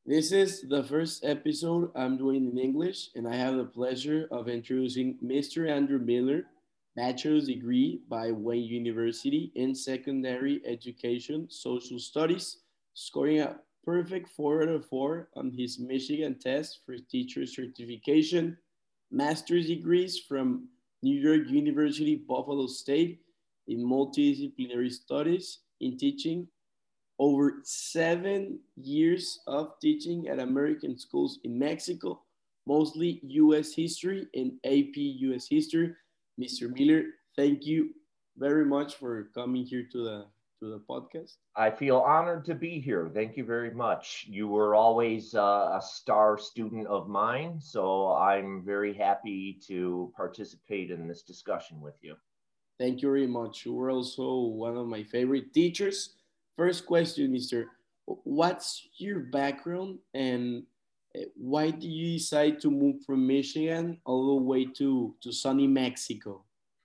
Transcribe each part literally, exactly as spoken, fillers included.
This is the first episode I'm doing in English, and I have the pleasure of introducing mister Andrew Miller, bachelor's degree by Wayne University in secondary education, social studies, scoring a perfect four out of four on his Michigan test for teacher certification, master's degrees from New York University, Buffalo State in multidisciplinary studies in teaching, over seven years of teaching at American schools in Mexico, mostly U S history and A P U S history. mister Miller, thank you very much for coming here to the to the podcast. I feel honored to be here. Thank you very much. You were always uh, a star student of mine, so I'm very happy to participate in this discussion with you. Thank you very much. You were also one of my favorite teachers. First question, mister What's your background and uh, why did you decide to move from Michigan all the way to, to sunny Mexico?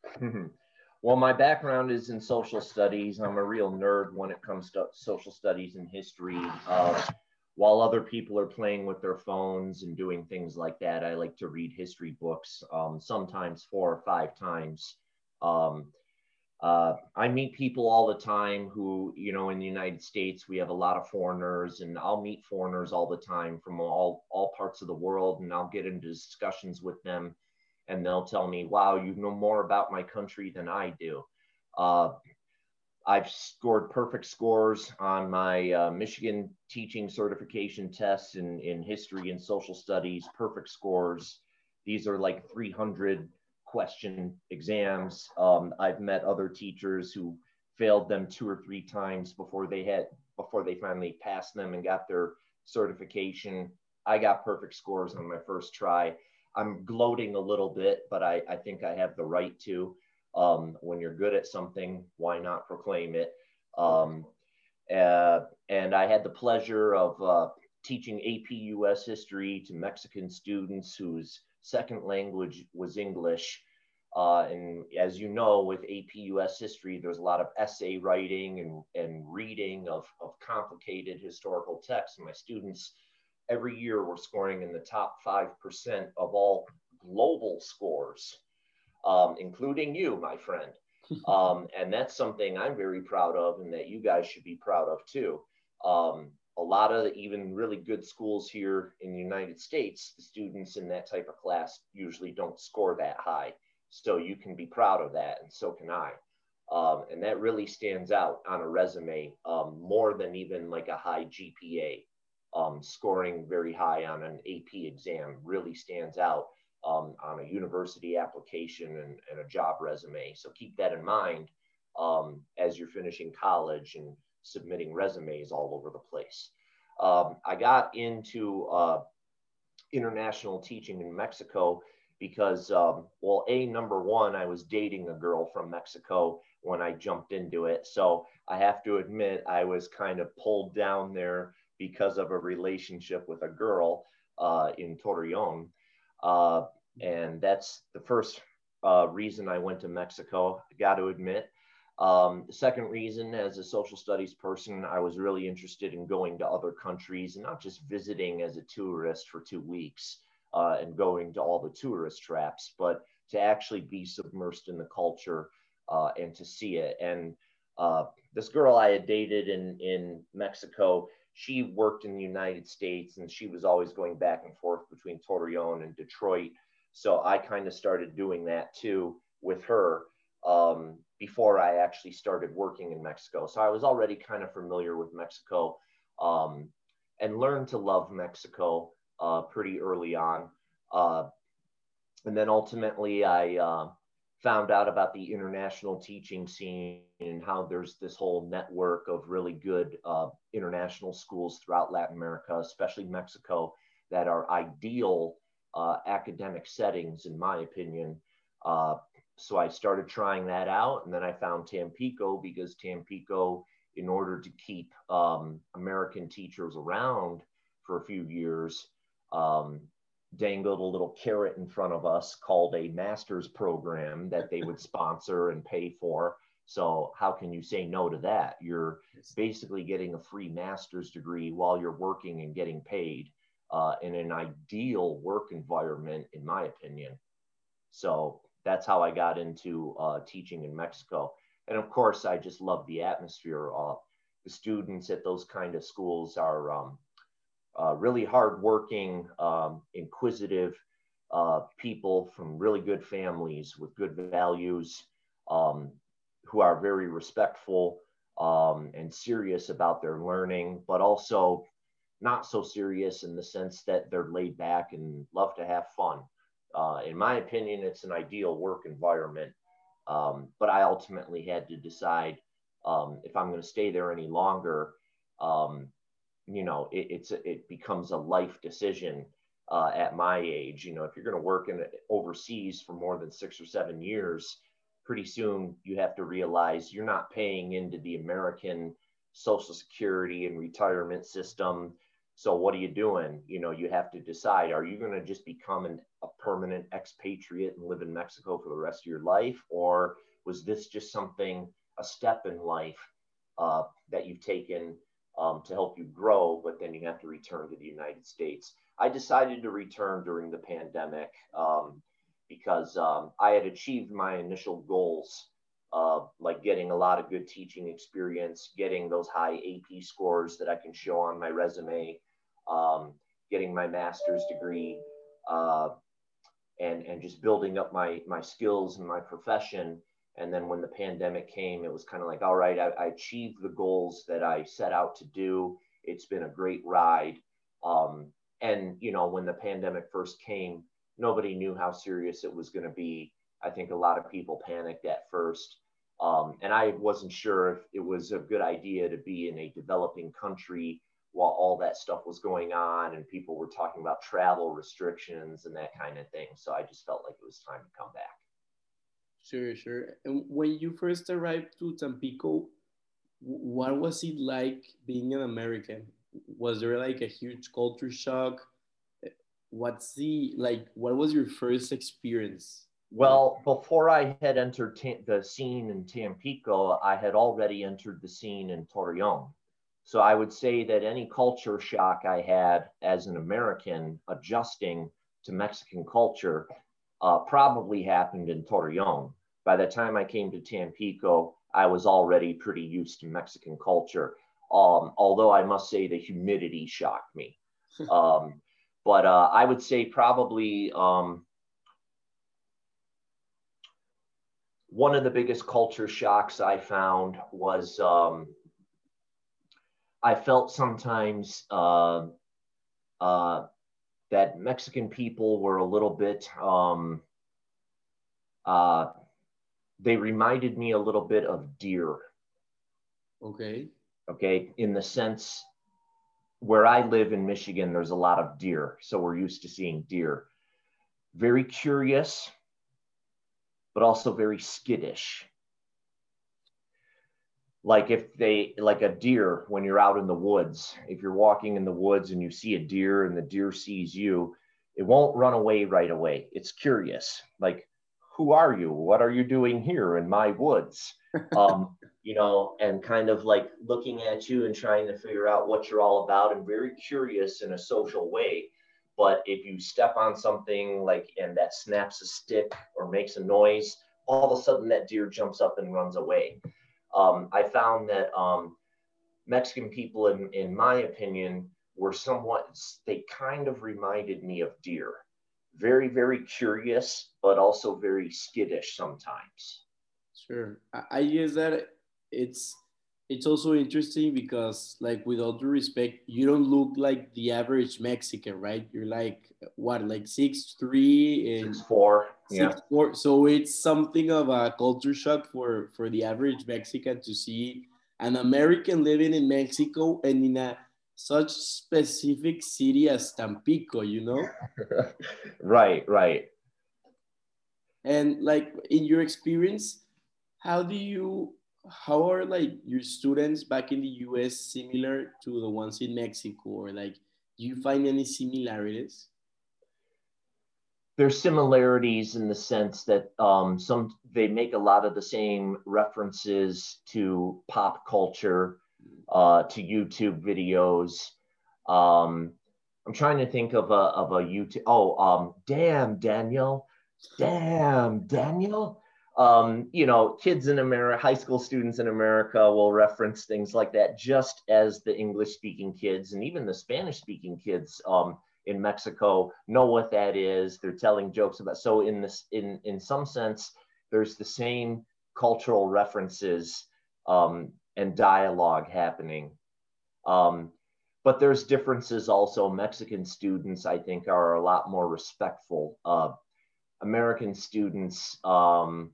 Well, my background is in social studies. I'm a real nerd when it comes to social studies and history. Uh, while other people are playing with their phones and doing things like that, I like to read history books, um, sometimes four or five times. Um, uh, I meet people all the time who, you know, in the United States, we have a lot of foreigners, and I'll meet foreigners all the time from all, all parts of the world, and I'll get into discussions with them, and they'll tell me, wow, you know more about my country than I do. Uh, I've scored perfect scores on my uh, Michigan teaching certification tests in, in history and social studies, perfect scores. These are like three hundred question exams. Um, I've met other teachers who failed them two or three times before they had before they finally passed them and got their certification. I got perfect scores on my first try. I'm gloating a little bit, but I, I think I have the right to. Um, when you're good at something, why not proclaim it? Um, uh, and I had the pleasure of uh, teaching A P U S history to Mexican students whose second language was English. Uh, and as you know, with A P U S history, there's a lot of essay writing and, and reading of, of complicated historical texts. And my students every year were scoring in the top five percent of all global scores, um, including you, my friend. Um, and that's something I'm very proud of and that you guys should be proud of too. Um, a lot of the, even really good schools here in the United States, the students in that type of class usually don't score that high. So you can be proud of that, and so can I. Um, and that really stands out on a resume, um, more than even like a high G P A. Um, scoring very high on an A P exam really stands out um, on a university application and, and a job resume. So keep that in mind um, as you're finishing college and submitting resumes all over the place. Um, I got into uh, international teaching in Mexico because, um, well, A, number one, I was dating a girl from Mexico when I jumped into it. So I have to admit, I was kind of pulled down there because of a relationship with a girl uh, in Torreon. Uh, and that's the first uh, reason I went to Mexico, I got to admit. Um, the second reason, as a social studies person, I was really interested in going to other countries and not just visiting as a tourist for two weeks uh, and going to all the tourist traps, but to actually be submersed in the culture uh, and to see it. And uh, this girl I had dated in, in Mexico, she worked in the United States and she was always going back and forth between Torreon and Detroit. So I kind of started doing that too with her um, before I actually started working in Mexico. So I was already kind of familiar with Mexico um, and learned to love Mexico uh, pretty early on. Uh, and then ultimately I uh, found out about the international teaching scene and how there's this whole network of really good uh, international schools throughout Latin America, especially Mexico, that are ideal uh, academic settings, in my opinion. Uh, so I started trying that out, and then I found Tampico because Tampico, in order to keep um, American teachers around for a few years, um, dangled a little carrot in front of us called a master's program that they would sponsor and pay for. So how can you say no to that? You're Yes. basically getting a free master's degree while you're working and getting paid uh, in an ideal work environment, in my opinion. So that's how I got into uh, teaching in Mexico. And of course, I just love the atmosphere. Uh, the students at those kind of schools are um, uh, really hardworking, um, inquisitive uh, people from really good families with good values, um, who are very respectful um, and serious about their learning, but also not so serious in the sense that they're laid back and love to have fun. Uh, in my opinion, it's an ideal work environment. Um, but I ultimately had to decide um, if I'm going to stay there any longer. Um, you know, it, it's a, it becomes a life decision uh, at my age. You know, if you're going to work in overseas for more than six or seven years, pretty soon you have to realize you're not paying into the American Social Security and retirement system. So what are you doing? You know, you have to decide, are you going to just become an, a permanent expatriate and live in Mexico for the rest of your life? Or was this just something, a step in life uh, that you've taken um, to help you grow, but then you have to return to the United States? I decided to return during the pandemic um, because um, I had achieved my initial goals, uh, like getting a lot of good teaching experience, getting those high A P scores that I can show on my resume, um, getting my master's degree, uh, and and just building up my my skills and my profession. And then when the pandemic came, it was kind of like, all right, I, I achieved the goals that I set out to do. It's been a great ride. Um, and you know, when the pandemic first came, nobody knew how serious it was going to be. I think a lot of people panicked at first. Um, and I wasn't sure if it was a good idea to be in a developing country while all that stuff was going on and people were talking about travel restrictions and that kind of thing. So I just felt like it was time to come back. Sure, sure. And when you first arrived to Tampico, what was it like being an American? Was there like a huge culture shock? What's the like? What was your first experience? Like, Well, before I had entered ta- the scene in Tampico, I had already entered the scene in Torreon. So I would say that any culture shock I had as an American adjusting to Mexican culture uh, probably happened in Torreon. By the time I came to Tampico, I was already pretty used to Mexican culture. Um, although I must say the humidity shocked me. Um, but uh, I would say probably um, one of the biggest culture shocks I found was um, I felt sometimes uh, uh, that Mexican people were a little bit, um, uh, they reminded me a little bit of deer. okay, Okay, in the sense where I live in Michigan, there's a lot of deer. So we're used to seeing deer. Very curious, but also very skittish. Like if they, like a deer, when you're out in the woods, if you're walking in the woods and you see a deer and the deer sees you, it won't run away right away. It's curious. Like, who are you? What are you doing here in my woods? Um, you know, and kind of like looking at you and trying to figure out what you're all about, and very curious in a social way. But if you step on something like, and that snaps a stick or makes a noise, all of a sudden that deer jumps up and runs away. Um, I found that um, Mexican people, in, in my opinion, were somewhat, they kind of reminded me of deer. Very, very curious, but also very skittish sometimes. sure. I, I guess that it's it's also interesting because, like, with all due respect, you don't look like the average Mexican, right? You're like what, like six three Six, and four, yeah. six four. So it's something of a culture shock for for the average Mexican to see an American living in Mexico and in a such specific city as Tampico, you know? Right, right. And like in your experience, how do you how are like your students back in the U S similar to the ones in Mexico, or like do you find any similarities? there's similarities in the sense that um, some they make a lot of the same references to pop culture, uh, to YouTube videos. Um, I'm trying to think of a of a YouTube. Oh, um, damn Daniel, damn Daniel. Um, you know, kids in America, high school students in America will reference things like that, just as the English-speaking kids and even the Spanish-speaking kids um, in Mexico know what that is. They're telling jokes about. So in this, in in some sense, there's the same cultural references um, and dialogue happening. Um, but there's differences also. Mexican students, I think, are a lot more respectful. Uh, American students, um,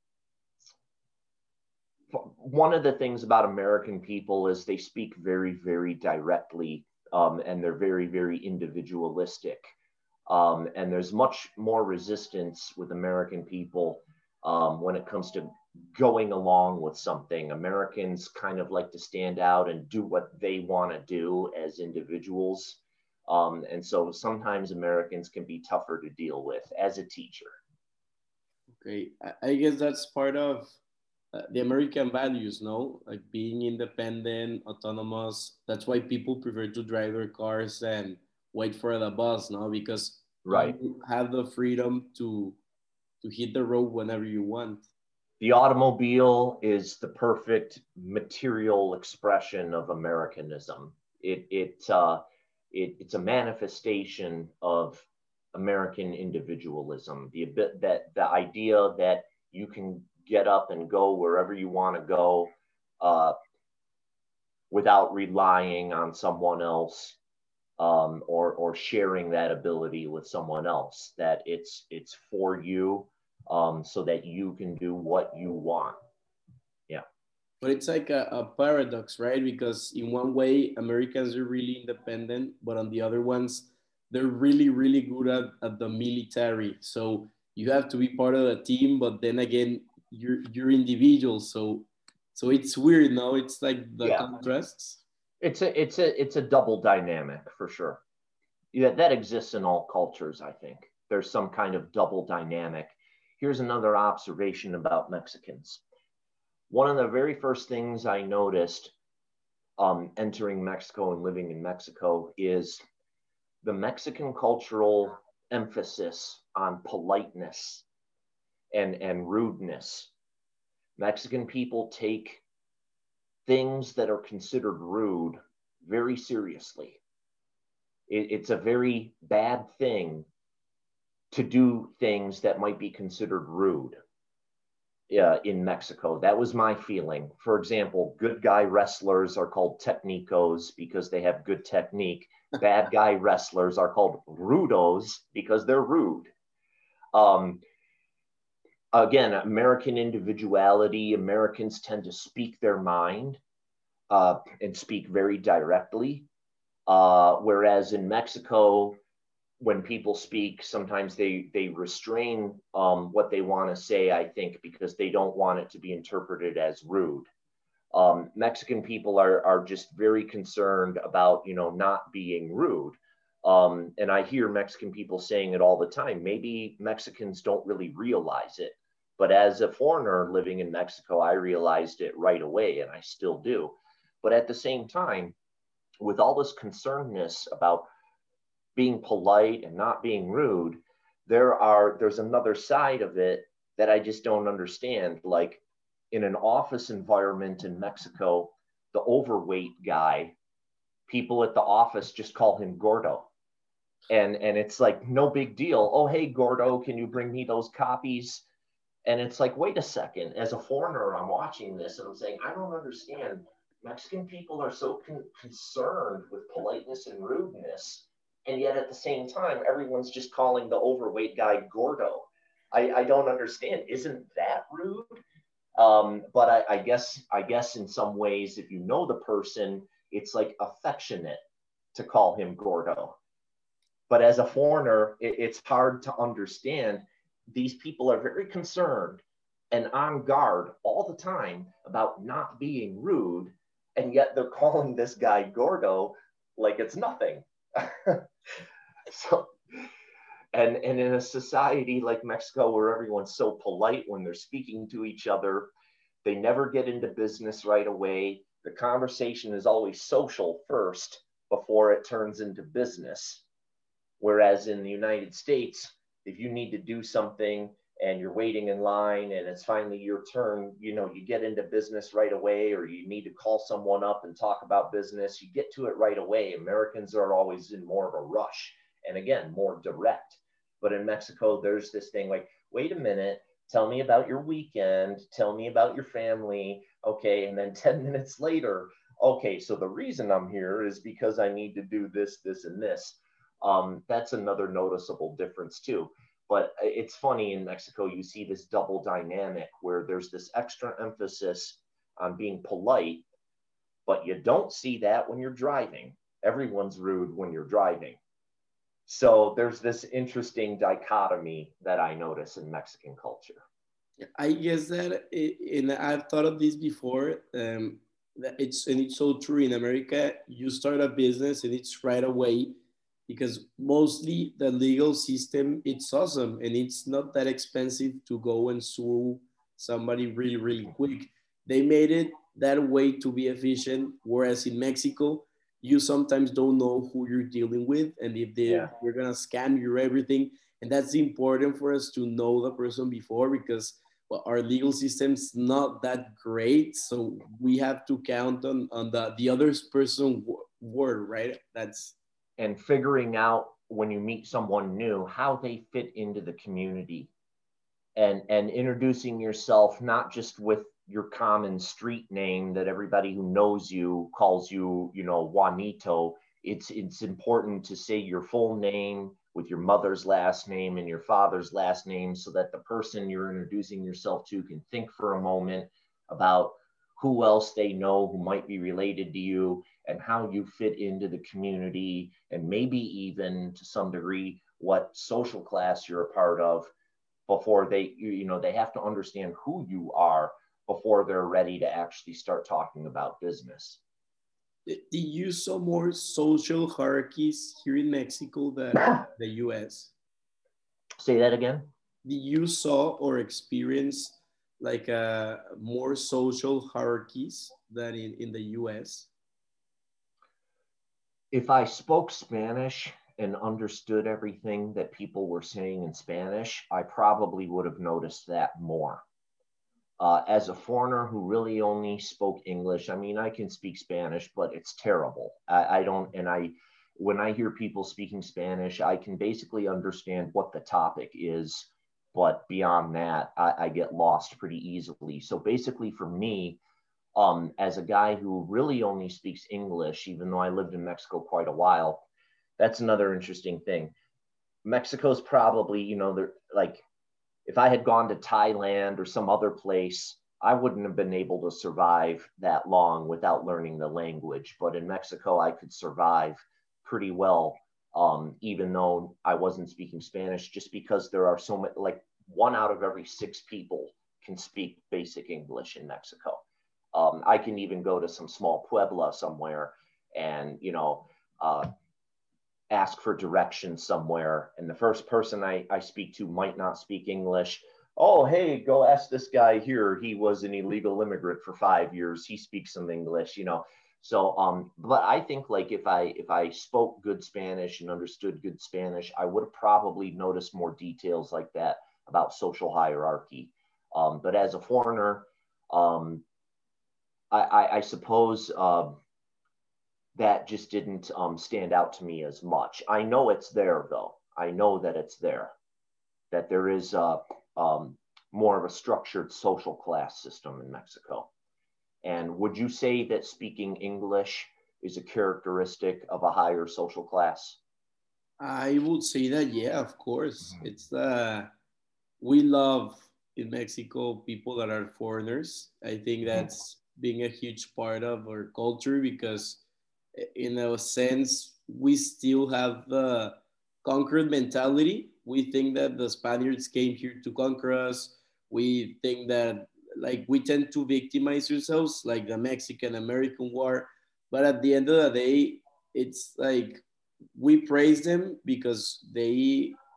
one of the things about American people is they speak very, very directly, um, and they're very, very individualistic. Um, and there's much more resistance with American people um, when it comes to going along with something. Americans kind of like to stand out and do what they want to do as individuals. Um, and so sometimes Americans can be tougher to deal with as a teacher. Okay, I, I guess that's part of uh, the American values, no? Like being independent, autonomous. That's why people prefer to drive their cars and wait for the bus, no? Because Right. you have the freedom to to hit the road whenever you want. The automobile is the perfect material expression of Americanism. It, it, uh, it, it's a manifestation of American individualism. The, that, the idea that you can get up and go wherever you want to go uh, without relying on someone else um, or, or sharing that ability with someone else, that it's, it's for you um, so that you can do what you want. Yeah. But it's like a, a paradox, right? Because in one way, Americans are really independent, but on the other ones, they're really, really good at, at the military. So you have to be part of the team, but then again, you're you're individual. So so it's weird, no? It's like the Yeah. contrasts. It's a, it's a, it's a double dynamic for sure. Yeah, that exists in all cultures, I think. There's some kind of double dynamic. Here's another observation about Mexicans. One of the very first things I noticed um, entering Mexico and living in Mexico is the Mexican cultural emphasis on politeness and, and rudeness. Mexican people take things that are considered rude very seriously. It, it's a very bad thing to do things that might be considered rude uh, in Mexico. That was my feeling. For example, good guy wrestlers are called technicos because they have good technique. Bad guy wrestlers are called rudos because they're rude. Um, again, American individuality, Americans tend to speak their mind uh, and speak very directly. Uh, whereas in Mexico, when people speak, sometimes they they restrain um, what they want to say, I think, because they don't want it to be interpreted as rude. Um, Mexican people are are just very concerned about, you know, not being rude. Um, and I hear Mexican people saying it all the time. Maybe Mexicans don't really realize it, but as a foreigner living in Mexico, I realized it right away, and I still do. But at the same time, with all this concernedness about being polite and not being rude, there are there's another side of it that I just don't understand. Like in an office environment in Mexico, the overweight guy, people at the office just call him Gordo. And and it's like no big deal. Oh, hey Gordo, can you bring me those copies? And it's like, wait a second, as a foreigner, I'm watching this and I'm saying, I don't understand. Mexican people are so con- concerned with politeness and rudeness. And yet at the same time, everyone's just calling the overweight guy Gordo. I, I don't understand. Isn't that rude? Um, but I, I guess I guess in some ways, if you know the person, it's like affectionate to call him Gordo. But as a foreigner, it, it's hard to understand. These people are very concerned and on guard all the time about not being rude, and yet they're calling this guy Gordo like it's nothing. So And, and in a society like Mexico, where everyone's so polite when they're speaking to each other, they never get into business right away. The conversation is always social first before it turns into business. Whereas in the United States, if you need to do something and you're waiting in line and it's finally your turn, you know, you get into business right away, or you need to call someone up and talk about business, you get to it right away. Americans are always in more of a rush, and again, more direct. But in Mexico, there's this thing like, wait a minute, tell me about your weekend, tell me about your family. Okay, and then ten minutes later, okay, so the reason I'm here is because I need to do this, this, and this. Um, that's another noticeable difference too. But it's funny, in Mexico, you see this double dynamic where there's this extra emphasis on being polite, but you don't see that when you're driving. Everyone's rude when you're driving. So there's this interesting dichotomy that I notice in Mexican culture. I guess that, it, and I've thought of this before. Um, that it's and it's so true in America. You start a business and it's right away, because mostly the legal system, it's awesome and it's not that expensive to go and sue somebody really really quick. They made it that way to be efficient, whereas in Mexico you sometimes don't know who you're dealing with, and if they, Yeah. they're gonna scam you or everything. And that's important for us to know the person before, because well, our legal system's not that great, so we have to count on, on the, the other person word, right? That's And figuring out when you meet someone new, how they fit into the community, and, and introducing yourself, not just with your common street name that everybody who knows you calls you, you know, Juanito. It's, it's important to say your full name with your mother's last name and your father's last name, so that the person you're introducing yourself to can think for a moment about who else they know who might be related to you, and how you fit into the community, and maybe even to some degree what social class you're a part of, before they, you know, they have to understand who you are before they're ready to actually start talking about business. do you saw more social hierarchies here in Mexico than the U S? Say that again. Do you saw or experience like uh, more social hierarchies than in, in the U S? If I spoke Spanish and understood everything that people were saying in Spanish, I probably would have noticed that more. Uh, as a foreigner who really only spoke English, I mean, I can speak Spanish, but it's terrible. I, I don't, and I, when I hear people speaking Spanish, I can basically understand what the topic is, but beyond that, I, I get lost pretty easily. So basically for me, um, as a guy who really only speaks English, even though I lived in Mexico quite a while, that's another interesting thing. Mexico's probably, you know, they're like, if I had gone to Thailand or some other place, I wouldn't have been able to survive that long without learning the language. But in Mexico, I could survive pretty well, um, even though I wasn't speaking Spanish, just because there are so many, like one out of every six people can speak basic English in Mexico. Um, I can even go to some small puebla somewhere and, you know, uh, ask for directions somewhere, and the first person I, I speak to might not speak English. Oh, hey, go ask this guy here. He was an illegal immigrant for five years. He speaks some English, you know. So, um, but I think like if I if I spoke good Spanish and understood good Spanish, I would have probably noticed more details like that about social hierarchy. Um, but as a foreigner, um, I, I, I suppose. Uh, that just didn't um, stand out to me as much. I know it's there, though. I know that it's there, that there is uh, um, more of a structured social class system in Mexico. And would you say that speaking English is a characteristic of a higher social class? I would say that, yeah, of course. It's uh, we love in Mexico people that are foreigners. I think Mhm. that's being a huge part of our culture, because in a sense we still have the conquered mentality. We think that the Spaniards came here to conquer us. We think that, like, we tend to victimize ourselves, like the Mexican American War. But at the end of the day, it's like we praise them because they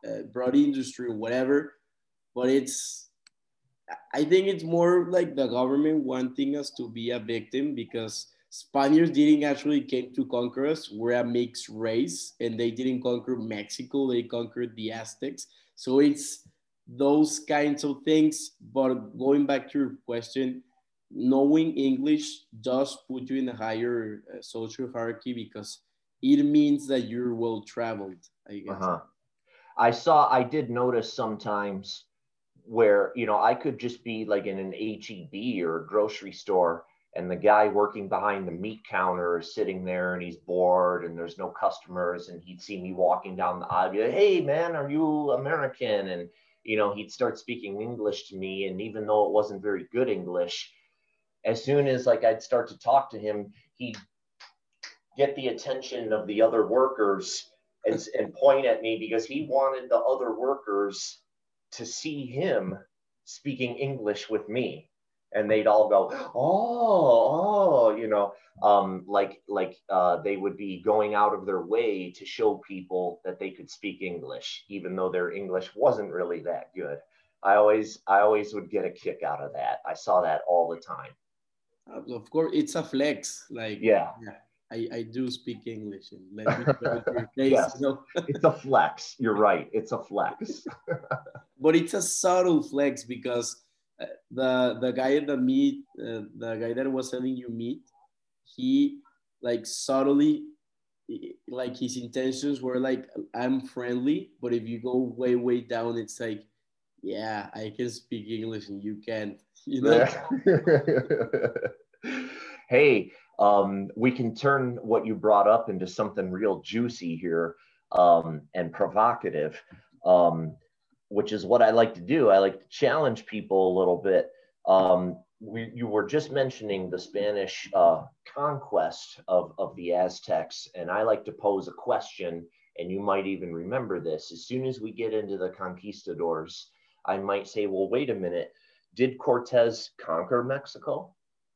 uh, broad industry or whatever. But it's, I think it's more like the government wanting us to be a victim because Spaniards didn't actually came to conquer us. We're a mixed race, and they didn't conquer Mexico. They conquered the Aztecs. So it's those kinds of things. But going back to your question, knowing English does put you in a higher uh, social hierarchy because it means that you're well traveled, I guess. Uh-huh. I saw, I did notice sometimes where, you know, I could just be like in an H E B or a grocery store, and the guy working behind the meat counter is sitting there and he's bored and there's no customers, and he'd see me walking down the aisle, be like, hey man, are you American? And, you know, he'd start speaking English to me. And even though it wasn't very good English, as soon as like I'd start to talk to him, he'd get the attention of the other workers and, and point at me because he wanted the other workers to see him speaking English with me. And they'd all go, oh, oh, you know, um, like like uh, they would be going out of their way to show people that they could speak English, even though their English wasn't really that good. I always I always would get a kick out of that. I saw that all the time. Uh, of course, it's a flex. Like, Yeah. yeah, I, I do speak English, and let me show it to your face. Yes, You know? it's a flex. You're right. It's a flex. But it's a subtle flex because uh, the the guy at the meat, uh, the guy that was selling you meat, he like subtly, like his intentions were like, I'm friendly, but if you go way way down, it's like, yeah, I can speak English and you can't, you know. Hey, um, we can turn what you brought up into something real juicy here, um, and provocative, um, which is what I like to do. I like to challenge people a little bit. Um, we, you were just mentioning the Spanish uh, conquest of, of the Aztecs, and I like to pose a question, and you might even remember this. As soon as we get into the conquistadors, I might say, well, wait a minute. Did Cortez conquer Mexico?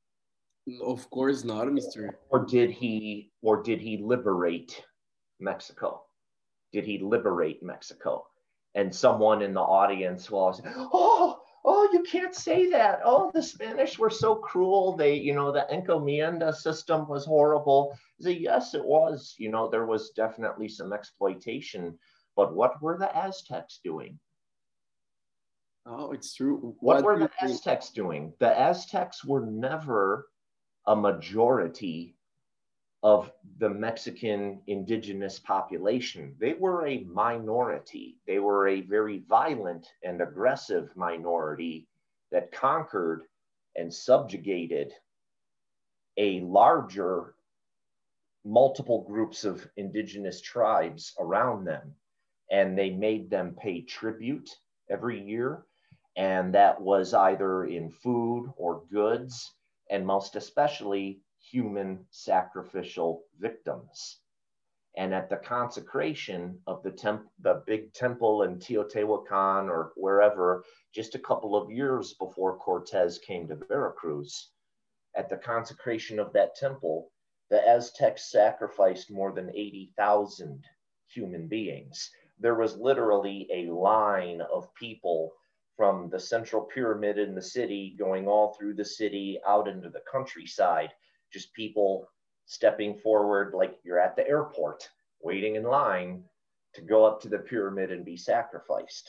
Of course not, mister Or did he or did he liberate Mexico? Did he liberate Mexico? And someone in the audience will say, oh, oh, you can't say that. Oh, the Spanish were so cruel. They, you know, the encomienda system was horrible. I say, yes, it was. You know, there was definitely some exploitation. But what were the Aztecs doing? Oh, it's true. What, What were do you the think? Aztecs doing? The Aztecs were never a majority of the Mexican indigenous population. They were a minority. They were a very violent and aggressive minority that conquered and subjugated a larger multiple groups of indigenous tribes around them. And they made them pay tribute every year. And that was either in food or goods, and most especially human sacrificial victims. And at the consecration of the temp- the big temple in Teotihuacan or wherever, just a couple of years before Cortez came to Veracruz, at the consecration of that temple, the Aztecs sacrificed more than eighty thousand human beings. There was literally a line of people from the central pyramid in the city going all through the city out into the countryside, just people stepping forward like you're at the airport, waiting in line to go up to the pyramid and be sacrificed.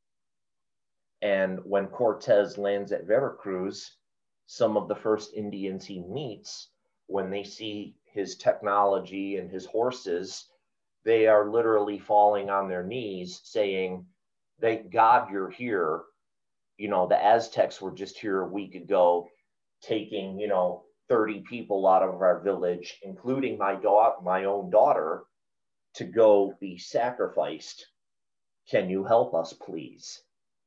And when Cortez lands at Veracruz, some of the first Indians he meets, when they see his technology and his horses, they are literally falling on their knees saying, thank God you're here. You know, the Aztecs were just here a week ago taking, you know, thirty people out of our village, including my daughter, my own daughter, to go be sacrificed. Can you help us, please?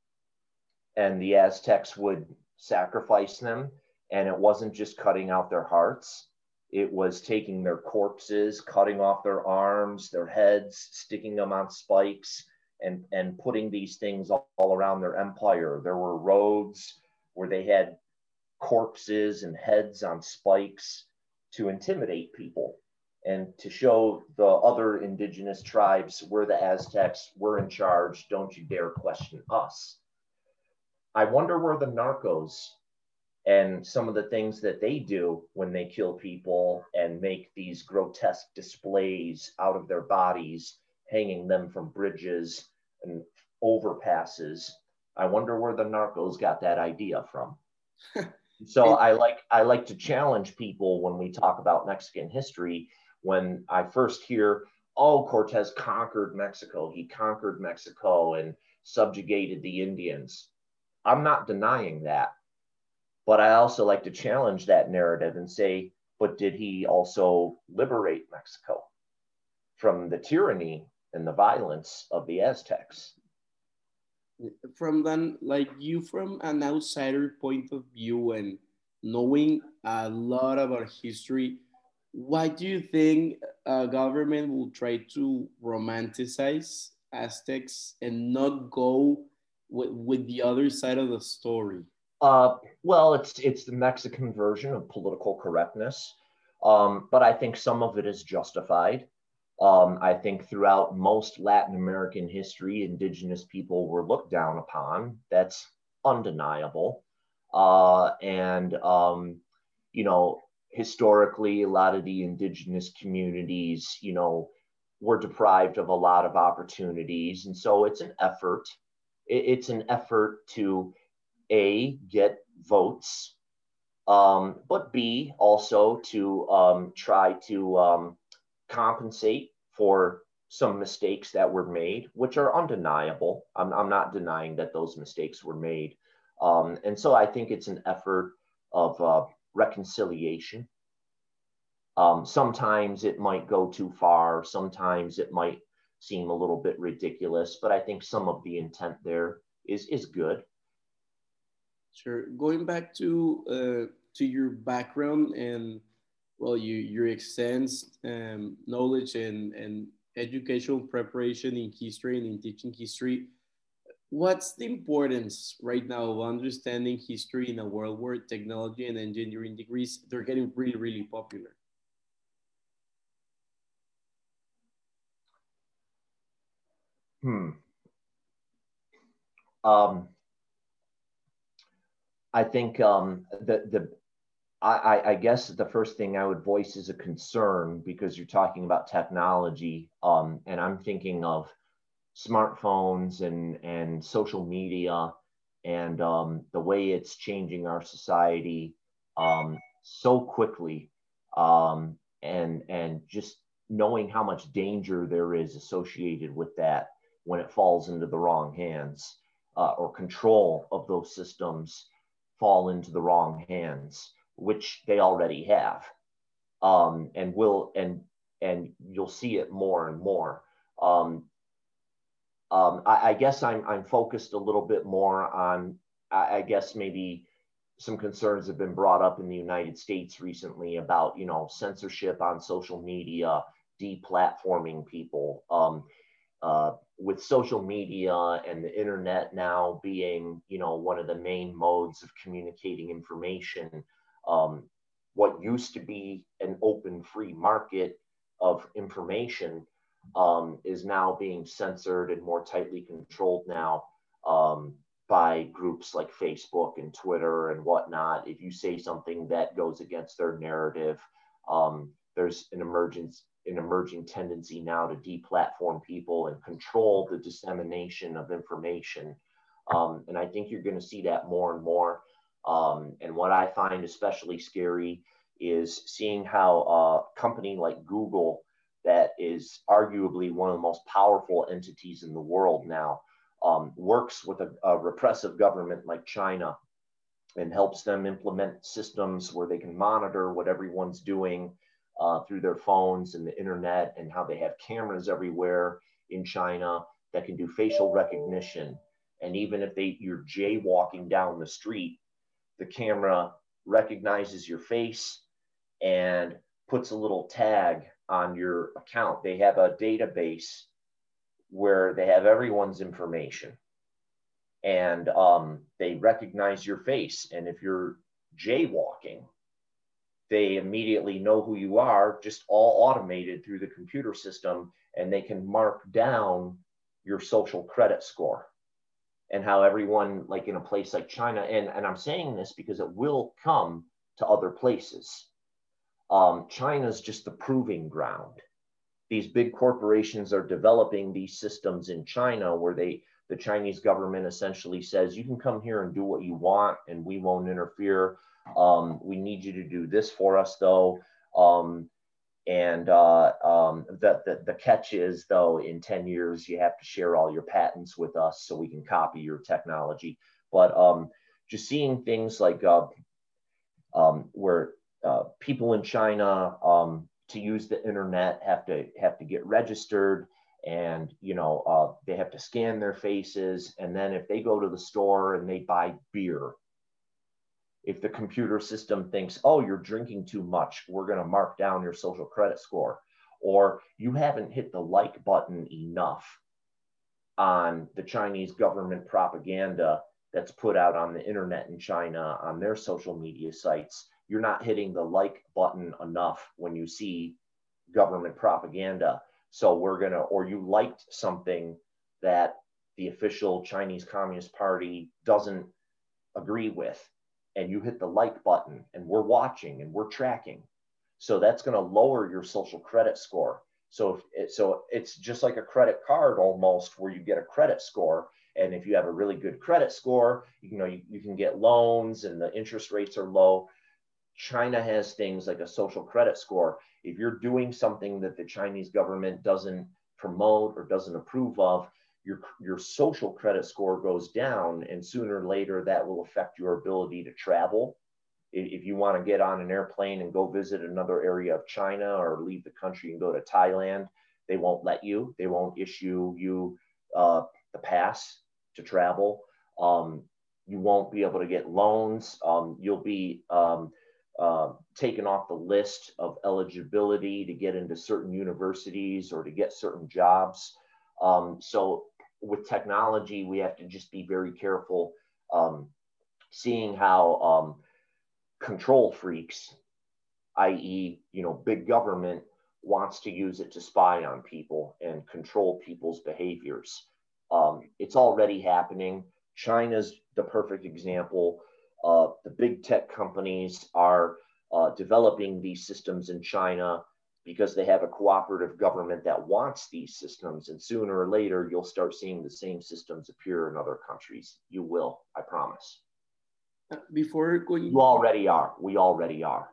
And the Aztecs would sacrifice them. And it wasn't just cutting out their hearts. It was taking their corpses, cutting off their arms, their heads, sticking them on spikes, and, and putting these things all, all around their empire. There were roads where they had corpses and heads on spikes to intimidate people. and to show the other indigenous tribes we're the Aztecs, we're in charge, don't you dare question us. I wonder where the narcos and some of the things that they do when they kill people and make these grotesque displays out of their bodies, hanging them from bridges and overpasses. I wonder where the narcos got that idea from. So I like I like to challenge people when we talk about Mexican history. When I first hear, oh, Cortez conquered Mexico, he conquered Mexico and subjugated the Indians. I'm not denying that. But I also like to challenge that narrative and say, but did he also liberate Mexico from the tyranny and the violence of the Aztecs? From then, like you, from an outsider point of view and knowing a lot about history, why do you think a government will try to romanticize Aztecs and not go with, with the other side of the story? Uh, well, it's it's the Mexican version of political correctness, um, but I think some of it is justified. Um, I think throughout most Latin American history, indigenous people were looked down upon. That's undeniable. Uh, and, um, you know, historically, a lot of the indigenous communities, you know, were deprived of a lot of opportunities. And so it's an effort. It's an effort to, A, get votes, um, but B, also to um, try to um, compensate for some mistakes that were made, which are undeniable. I'm, I'm not denying that those mistakes were made. Um, and so I think it's an effort of uh, reconciliation. Um, sometimes it might go too far. Sometimes it might seem a little bit ridiculous, but I think some of the intent there is, is good. Sure. Going back to uh, to your background and well, you your extensive um, knowledge and and educational preparation in history and in teaching history. What's the importance right now of understanding history in a world where technology and engineering degrees they're getting really really popular? Hmm. Um, I think um, the the I, I guess the first thing I would voice is a concern because you're talking about technology, um, and I'm thinking of smartphones and and social media and um, the way it's changing our society um, so quickly, um, and and just knowing how much danger there is associated with that when it falls into the wrong hands, uh, or control of those systems fall into the wrong hands, which they already have, um, and will and and you'll see it more and more. Um, um, I, I guess I'm I'm focused a little bit more on, I, I guess maybe some concerns have been brought up in the United States recently about, you know, censorship on social media, deplatforming people. Um, uh, with social media and the internet now being, you know, one of the main modes of communicating information, um, what used to be an open, free market of information um, is now being censored and more tightly controlled now um, by groups like Facebook and Twitter and whatnot. If you say something that goes against their narrative, um, there's an emergence an emerging tendency now to deplatform people and control the dissemination of information. Um, and I think you're going to see that more and more. Um, and what I find especially scary is seeing how a company like Google, that is arguably one of the most powerful entities in the world now, um, works with a, a repressive government like China and helps them implement systems where they can monitor what everyone's doing uh, through their phones and the internet, and how they have cameras everywhere in China that can do facial recognition. And even if they you're jaywalking down the street, the camera recognizes your face and puts a little tag on your account. They have a database where they have everyone's information, and um, they recognize your face. And if you're jaywalking, they immediately know who you are, just all automated through the computer system, and they can mark down your social credit score. And how everyone, like in a place like China, and, and I'm saying this because it will come to other places. Um, China's just the proving ground. These big corporations are developing these systems in China where they, the Chinese government essentially says, you can come here and do what you want and we won't interfere. Um, we need you to do this for us though. Um, and uh, um, the, the, the catch is though, in ten years, you have to share all your patents with us so we can copy your technology. But um, just seeing things like uh, um, where uh, people in China um, to use the internet have to have to get registered, and you know uh, they have to scan their faces, and then if they go to the store and they buy beer, if the computer system thinks, oh, you're drinking too much, we're going to mark down your social credit score, or you haven't hit the like button enough on the Chinese government propaganda that's put out on the internet in China on their social media sites. You're not hitting the like button enough when you see government propaganda. So we're going to, or you liked something that the official Chinese Communist Party doesn't agree with, and you hit the like button, and we're watching and we're tracking. So that's going to lower your social credit score. So, if it, so it's just like a credit card almost, where you get a credit score. And if you have a really good credit score, you know, you, you can get loans and the interest rates are low. China has things like a social credit score. If you're doing something that the Chinese government doesn't promote or doesn't approve of, your, your social credit score goes down, and sooner or later that will affect your ability to travel. If you want to get on an airplane and go visit another area of China or leave the country and go to Thailand, they won't let you. They won't issue you uh, the pass to travel. Um, you won't be able to get loans. Um, you'll be um, uh, taken off the list of eligibility to get into certain universities or to get certain jobs. Um, so with technology, we have to just be very careful, um, seeing how um, control freaks, that is, you know, big government wants to use it to spy on people and control people's behaviors. Um, it's already happening. China's the perfect example. Uh, the big tech companies are uh, developing these systems in China because they have a cooperative government that wants these systems. And sooner or later, you'll start seeing the same systems appear in other countries. You will, I promise. Before going, you already are. We already are.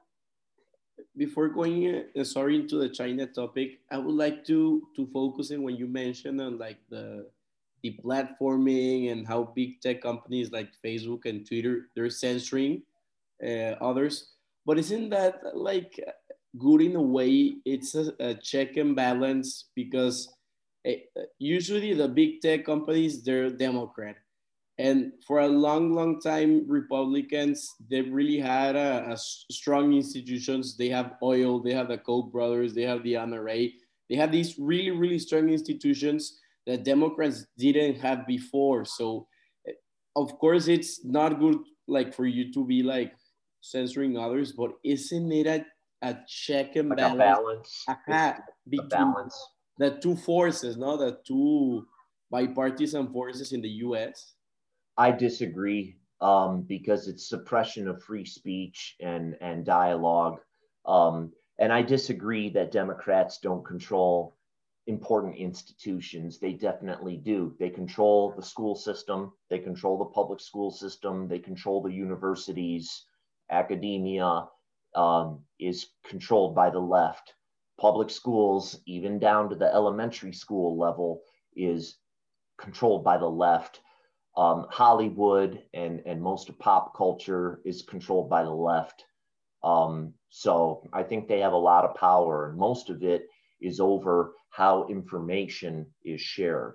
Before going, uh, sorry, into the China topic, I would like to to focus on when you mentioned on like the the platforming and how big tech companies like Facebook and Twitter, they're censoring uh, others. But isn't that like good in a way? It's a, a check and balance, because uh, usually the big tech companies, they're Democrat, and for a long long time Republicans, they really had a, a strong institutions. They have oil, they have the Koch brothers, they have the N R A, they have these really really strong institutions that Democrats didn't have before. So of course it's not good like for you to be like censoring others, but isn't it a, a check and like balance, a balance. Aha, a balance the two forces, no, the two bipartisan forces in the U S? I disagree, um, because it's suppression of free speech and, and dialogue. Um, and I disagree that Democrats don't control important institutions. They definitely do. They control the school system. They control the public school system. They control the universities. Academia um, is controlled by the left. Public schools, even down to the elementary school level, is controlled by the left. Um, Hollywood and, and most of pop culture is controlled by the left. Um, so I think they have a lot of power, and most of it is over how information is shared.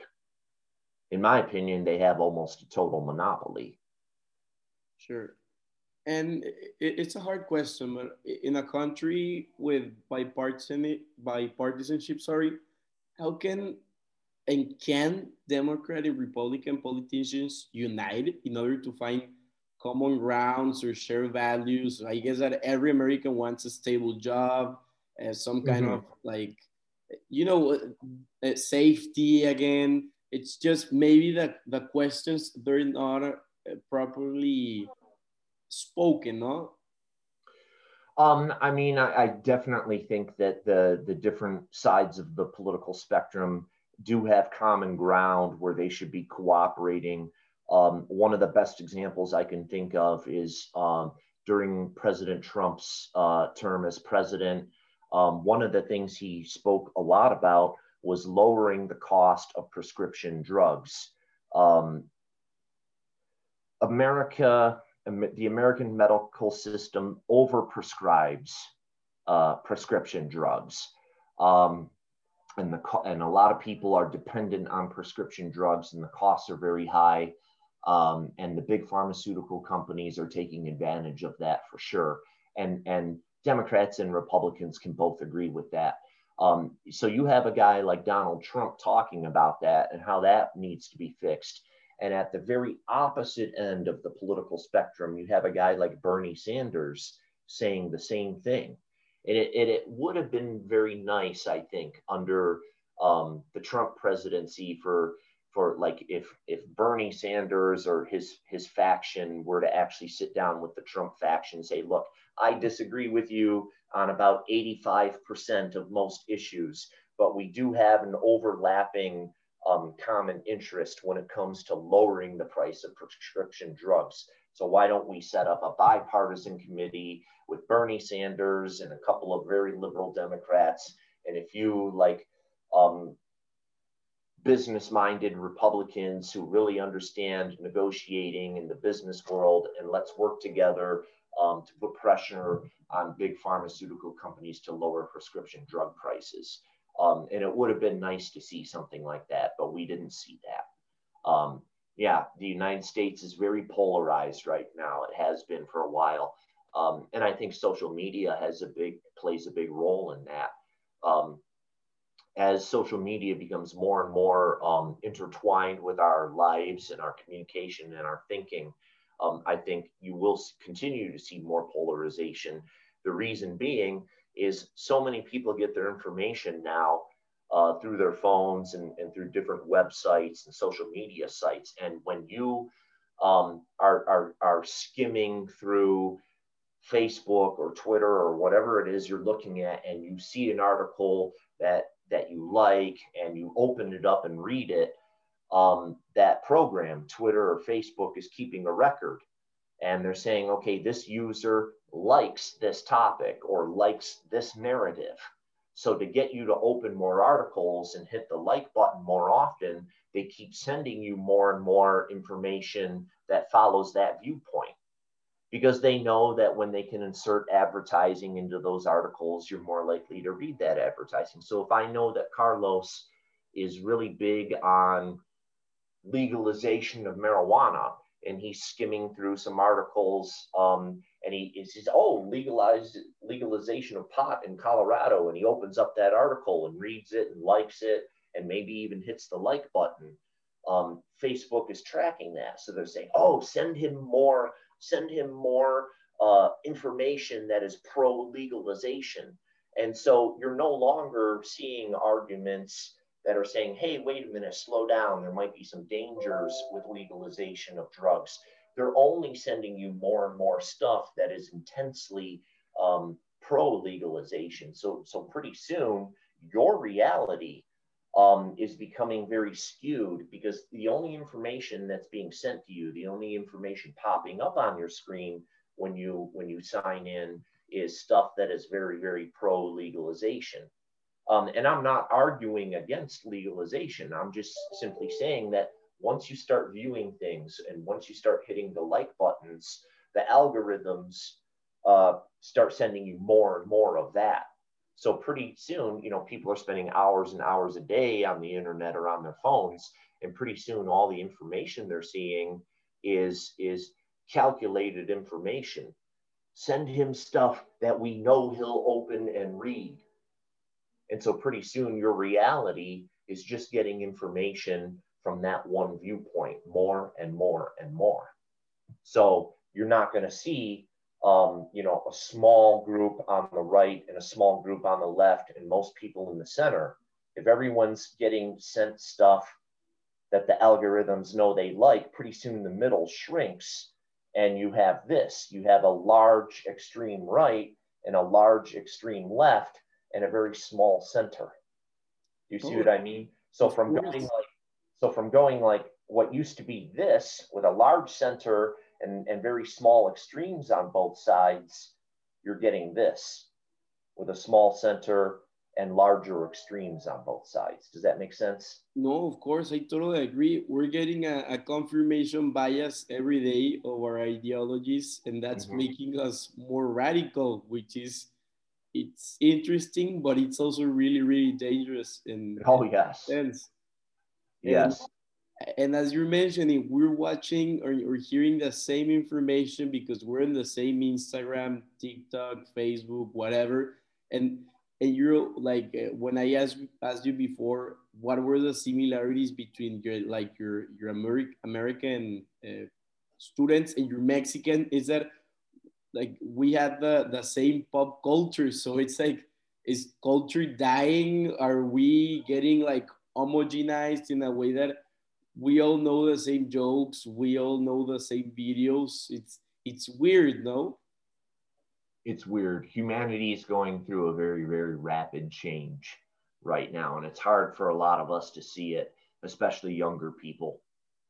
In my opinion, they have almost a total monopoly. Sure. And it's a hard question, but in a country with bipartisan bipartisanship, sorry, how can and can Democrat and Republican politicians unite in order to find common grounds or shared values. I guess that every American wants a stable job, uh, some kind Mm-hmm. of like, you know, uh, safety again. It's just maybe that the questions they're not uh, properly spoken, no? Um, I mean, I, I definitely think that the the different sides of the political spectrum do have common ground where they should be cooperating. Um, one of the best examples I can think of is um, during President Trump's uh, term as president. Um, one of the things he spoke a lot about was lowering the cost of prescription drugs. Um, America, the American medical system overprescribes uh, prescription drugs. Um, and, the, and a lot of people are dependent on prescription drugs, and the costs are very high. Um, and the big pharmaceutical companies are taking advantage of that for sure. And, and Democrats and Republicans can both agree with that. Um, so you have a guy like Donald Trump talking about that and how that needs to be fixed. And at the very opposite end of the political spectrum, you have a guy like Bernie Sanders saying the same thing. And it, it, it would have been very nice, I think, under um, the Trump presidency for for like if if Bernie Sanders or his his faction were to actually sit down with the Trump faction and say, look, I disagree with you on about eighty-five percent of most issues, but we do have an overlapping um, common interest when it comes to lowering the price of prescription drugs. So why don't we set up a bipartisan committee with Bernie Sanders and a couple of very liberal Democrats, and if you like um, business-minded Republicans who really understand negotiating in the business world, and let's work together um, to put pressure on big pharmaceutical companies to lower prescription drug prices. Um, and it would have been nice to see something like that, but we didn't see that. Um, yeah, the United States is very polarized right now. It has been for a while. Um, and I think social media has a big, plays a big role in that. Um, as social media becomes more and more um, intertwined with our lives and our communication and our thinking, um, I think you will continue to see more polarization. The reason being is so many people get their information now uh, through their phones and, and through different websites and social media sites. And when you um, are, are, are skimming through Facebook or Twitter or whatever it is you're looking at, and you see an article that that you like, and you open it up and read it, um, that program, Twitter or Facebook, is keeping a record. And they're saying, okay, this user likes this topic or likes this narrative. So to get you to open more articles and hit the like button more often, they keep sending you more and more information that follows that viewpoint, because they know that when they can insert advertising into those articles, you're more likely to read that advertising. So if I know that Carlos is really big on legalization of marijuana, and he's skimming through some articles, um, and he, he says, oh, legalized legalization of pot in Colorado, and he opens up that article and reads it and likes it, and maybe even hits the like button. Um, Facebook is tracking that. So they're saying, oh, send him more send him more uh, information that is pro-legalization. And so you're no longer seeing arguments that are saying, hey, wait a minute, slow down. There might be some dangers with legalization of drugs. They're only sending you more and more stuff that is intensely um, pro-legalization. So, so pretty soon, your reality Um, is becoming very skewed, because the only information that's being sent to you, the only information popping up on your screen when you when you sign in, is stuff that is very, very pro legalization. Um, and I'm not arguing against legalization. I'm just simply saying that once you start viewing things and once you start hitting the like buttons, the algorithms uh, start sending you more and more of that. So pretty soon, you know, people are spending hours and hours a day on the internet or on their phones, and pretty soon all the information they're seeing is is calculated information. Send him stuff that we know he'll open and read. And so pretty soon your reality is just getting information from that one viewpoint more and more and more. So you're not going to see, um, you know, a small group on the right and a small group on the left and most people in the center. If everyone's getting sent stuff that the algorithms know they like, pretty soon the middle shrinks and you have this. You have a large extreme right and a large extreme left and a very small center. Do you see Oh, what I mean? So of from going course. like, so from going like what used to be this with a large center and, and very small extremes on both sides, you're getting this with a small center and larger extremes on both sides. Does that make sense? No, of course, I totally agree. We're getting a, a confirmation bias every day of our ideologies, and that's Mm-hmm. making us more radical, which is it's interesting, but it's also really, really dangerous in, Oh, in yes. sense. And Yes. and as you're mentioning, we're watching or, or hearing the same information because we're in the same Instagram, TikTok, Facebook, whatever. And and you're like uh, when I asked asked you before, what were the similarities between your like your your Ameri- American uh, students and your Mexican? Is that like we had the the same pop culture, so it's like is culture dying? Are we getting like homogenized in a way that we all know the same jokes, we all know the same videos? It's it's weird, no? It's weird. Humanity is going through a very, very rapid change right now, and it's hard for a lot of us to see it, especially younger people.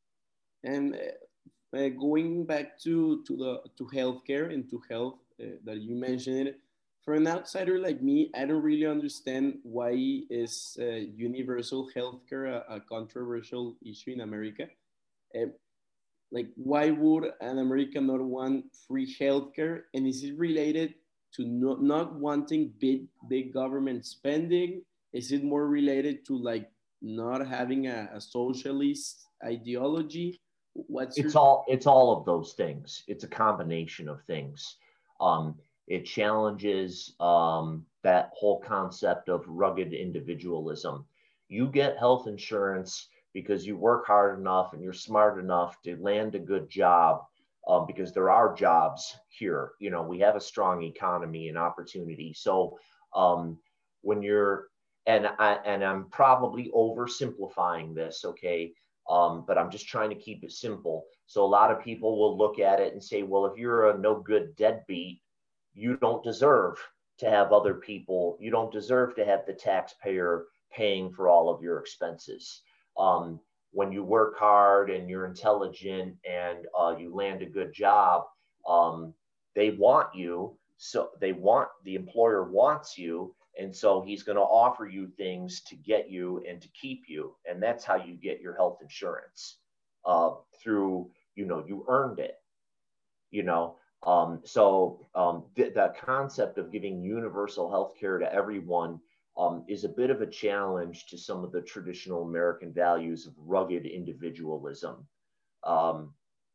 And uh, uh, going back to to the to healthcare and to health uh, that you mentioned, for an outsider like me, I don't really understand why is uh, universal healthcare a, a controversial issue in America. uh, like why would an American not want free healthcare? And is it related to not, not wanting big big government spending? Is it more related to like not having a, a socialist ideology? What's your It's all it's all of those things. It's a combination of things. Um, it challenges um, that whole concept of rugged individualism. You get health insurance because you work hard enough and you're smart enough to land a good job. Um, because there are jobs here. You know, we have a strong economy and opportunity. So um, when you're and I and I'm probably oversimplifying this, okay? Um, but I'm just trying to keep it simple. So a lot of people will look at it and say, well, if you're a no good deadbeat, you don't deserve to have other people, you don't deserve to have the taxpayer paying for all of your expenses. Um, when you work hard and you're intelligent and uh, you land a good job, um, they want you. So they want, the employer wants you, and so he's going to offer you things to get you and to keep you. And that's how you get your health insurance uh, through, you know, you earned it, you know. Um, so um, th- the concept of giving universal health care to everyone um, is a bit of a challenge to some of the traditional American values of rugged individualism. Um,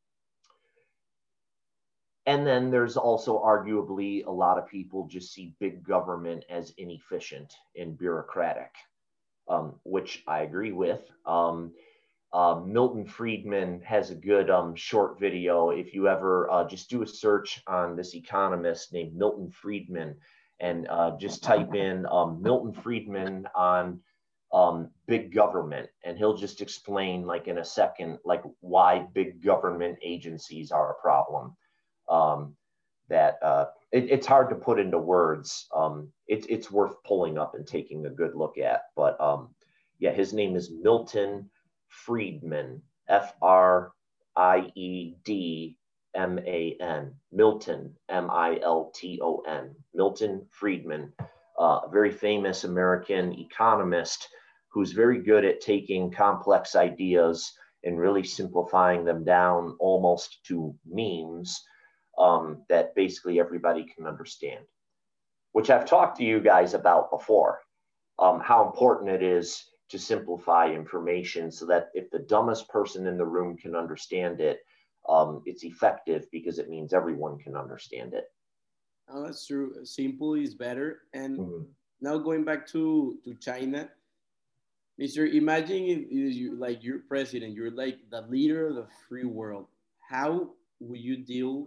and then there's also arguably a lot of people just see big government as inefficient and bureaucratic, um, which I agree with. Um, uh, Milton Friedman has a good um, short video. If you ever uh, just do a search on this economist named Milton Friedman and uh, just type in um, Milton Friedman on um, big government, and he'll just explain like in a second, like why big government agencies are a problem. Um, that uh, it, it's hard to put into words. Um, it, it's worth pulling up and taking a good look at. But um, yeah, his name is Milton Friedman, F R I E D M A N, Milton, M I L T O N, Milton Friedman, uh, a very famous American economist who's very good at taking complex ideas and really simplifying them down almost to memes um, that basically everybody can understand, which I've talked to you guys about before, um, how important it is to simplify information so that if the dumbest person in the room can understand it, um, it's effective because it means everyone can understand it. Oh, that's true. Simple is better. And Mm-hmm. now going back to to China, mister Imagine if you like you're president, you're like the leader of the free world. How will you deal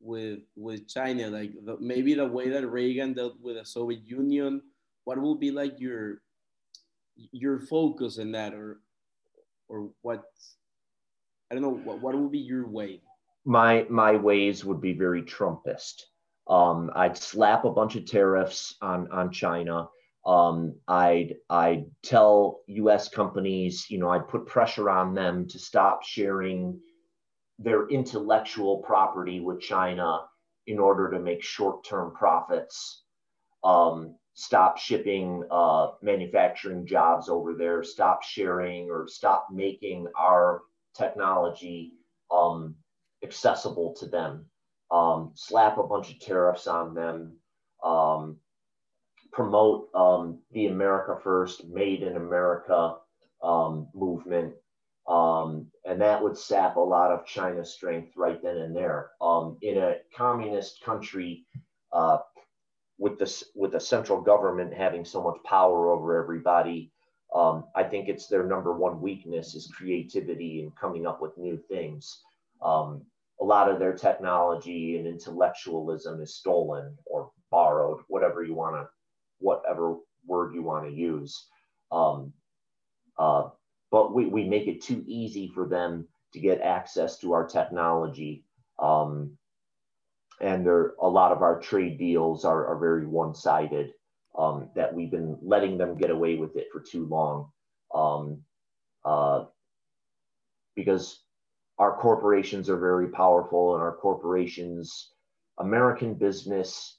with with China? Like the, maybe the way that Reagan dealt with the Soviet Union. What will be like your your focus in that, or or what? I don't know. What what will be your way? My my ways would be very Trumpist. Um, I'd slap a bunch of tariffs on on China. Um, I'd I'd tell U S companies, you know, I'd put pressure on them to stop sharing their intellectual property with China in order to make short-term profits. Um, stop shipping uh, manufacturing jobs over there. Stop sharing or stop making our technology um, accessible to them. Um, slap a bunch of tariffs on them. Um, promote um, the America First, Made in America um, movement. Um, and that would sap a lot of China's strength right then and there. Um, in a communist country, uh, with this with the central government having so much power over everybody, um, I think it's their number one weakness is creativity and coming up with new things. Um, a lot of their technology and intellectualism is stolen or borrowed, whatever you want to, whatever word you want to use. Um, uh, but we, we make it too easy for them to get access to our technology. Um, and there, a lot of our trade deals are, are very one-sided, um, that we've been letting them get away with it for too long. Um, uh, because our corporations are very powerful, and our corporations, American business,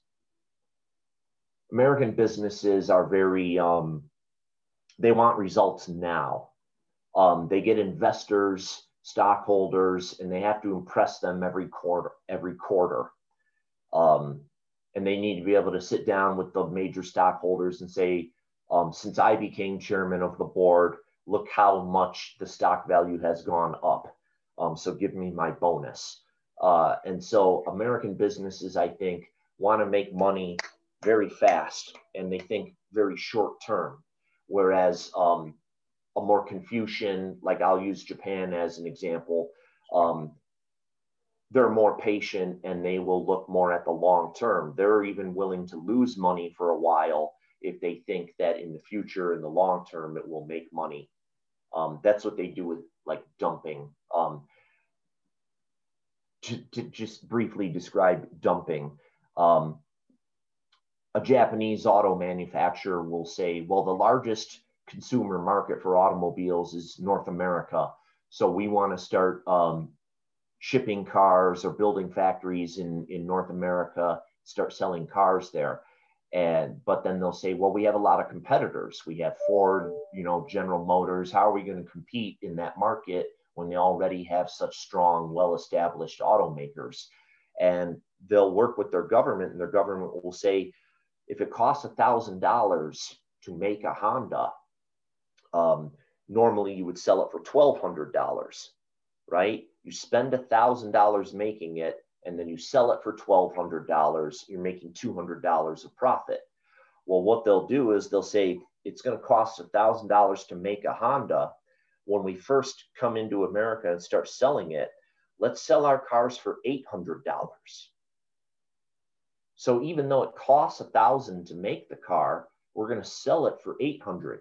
American businesses are very, um, they want results now. Um, they get investors, stockholders, and they have to impress them every quarter, every quarter. Um, and they need to be able to sit down with the major stockholders and say, um, since I became chairman of the board, look how much the stock value has gone up. Um, so give me my bonus. Uh, and so American businesses, I think, want to make money very fast, and they think very short term. Whereas um, a more Confucian, like I'll use Japan as an example, um, they're more patient and they will look more at the long term. They're even willing to lose money for a while if they think that in the future, in the long term, it will make money. Um, that's what they do with like dumping. Um, to, to just briefly describe dumping, um, a Japanese auto manufacturer will say, well, the largest consumer market for automobiles is North America. So we want to start um, shipping cars or building factories in, in North America, start selling cars there. And, but then they'll say, well, we have a lot of competitors. We have Ford, you know, General Motors. How are we going to compete in that market when they already have such strong, well-established automakers? And they'll work with their government, and their government will say, if it costs a thousand dollars to make a Honda, um, normally you would sell it for twelve hundred dollars, right? You spend a thousand dollars making it, and then you sell it for twelve hundred dollars. You're making two hundred dollars of profit. Well, what they'll do is they'll say it's going to cost a thousand dollars to make a Honda. When we first come into America and start selling it, let's sell our cars for eight hundred dollars. So even though it costs a thousand to make the car, we're going to sell it for eight hundred.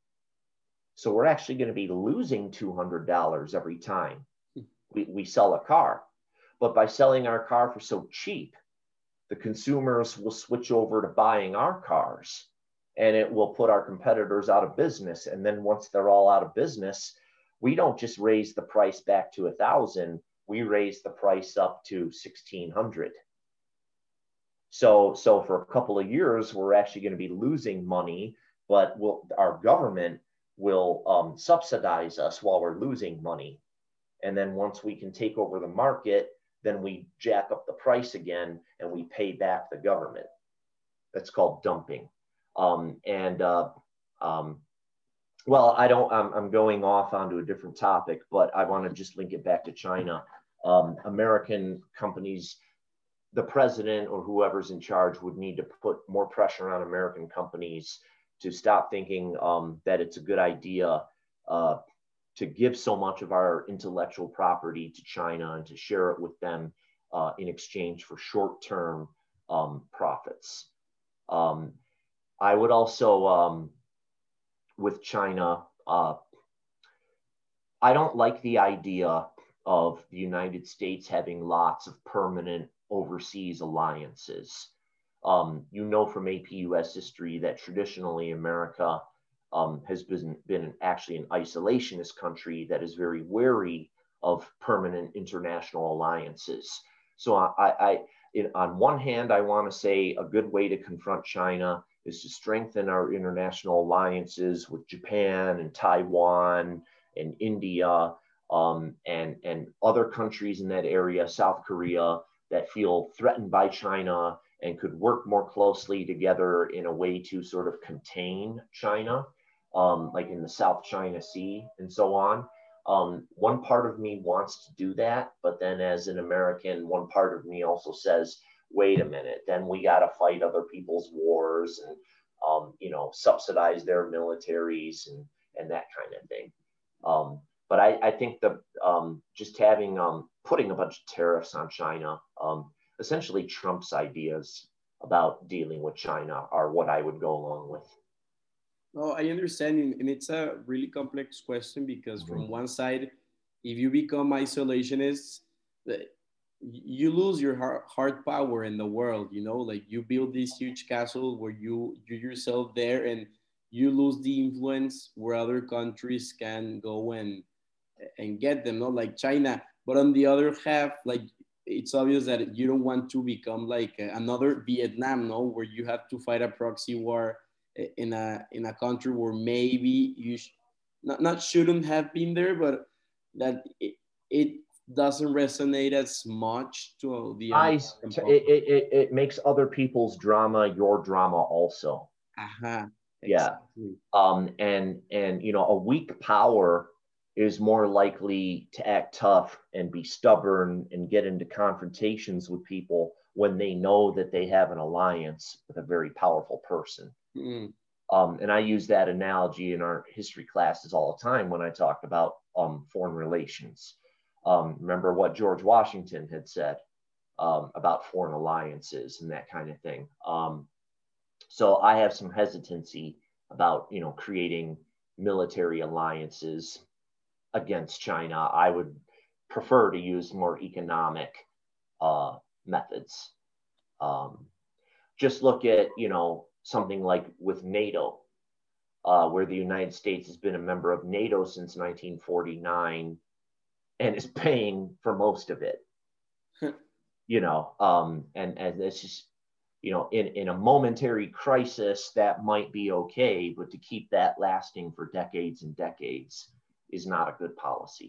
So we're actually going to be losing two hundred dollars every time we, we sell a car. But by selling our car for so cheap, the consumers will switch over to buying our cars, and it will put our competitors out of business. And then once they're all out of business, we don't just raise the price back to a thousand, we raise the price up to sixteen hundred. So, so for a couple of years, we're actually going to be losing money, but we'll, our government will um, subsidize us while we're losing money. And then once we can take over the market, then we jack up the price again and we pay back the government. That's called dumping. Um, and uh, um, well, I don't, I'm, I'm going off onto a different topic, but I want to just link it back to China. Um, American companies, the president or whoever's in charge would need to put more pressure on American companies to stop thinking um, that it's a good idea uh, to give so much of our intellectual property to China and to share it with them. uh, in exchange for short-term um, profits. Um, I would also, um, with China, uh, I don't like the idea of the United States having lots of permanent overseas alliances. Um, you know from A P U S history that traditionally America um, has been, been actually an isolationist country that is very wary of permanent international alliances. So I, I in, on one hand, I want to say a good way to confront China is to strengthen our international alliances with Japan and Taiwan and India um, and, and other countries in that area, South Korea, that feel threatened by China and could work more closely together in a way to sort of contain China, um, like in the South China Sea and so on. Um, one part of me wants to do that, but then as an American, one part of me also says, wait a minute, then we got to fight other people's wars and, um, you know, subsidize their militaries and, and that kind of thing. Um, but I, I think that um, just having, um, putting a bunch of tariffs on China um, essentially trumps ideas about dealing with China are what I would go along with. Oh, I understand. And it's a really complex question because Mm-hmm. from one side, if you become isolationist, you lose your hard power in the world, you know, like you build this huge castle where you you yourself there, and you lose the influence where other countries can go and and get them, not like China. But on the other half, like it's obvious that you don't want to become like another Vietnam, no, where you have to fight a proxy war in a in a country where maybe you sh- not, not shouldn't have been there, but that it, it doesn't resonate as much to the I, American it, public. it, it makes other people's drama your drama also. Aha, Yeah. exactly. Um, and, and, you know, a weak power is more likely to act tough and be stubborn and get into confrontations with people when they know that they have an alliance with a very powerful person. Mm. Um, and I use that analogy in our history classes all the time when I talk about um, foreign relations. Um, remember what George Washington had said um, about foreign alliances and that kind of thing. Um, so I have some hesitancy about, you know, creating military alliances against China. I would prefer to use more economic uh, methods. Um, just look at, you know, something like with NATO, uh, where the United States has been a member of NATO since nineteen forty-nine and is paying for most of it. You know, um, and, and it's just, you know, in, in a momentary crisis, that might be okay, but to keep that lasting for decades and decades is not a good policy.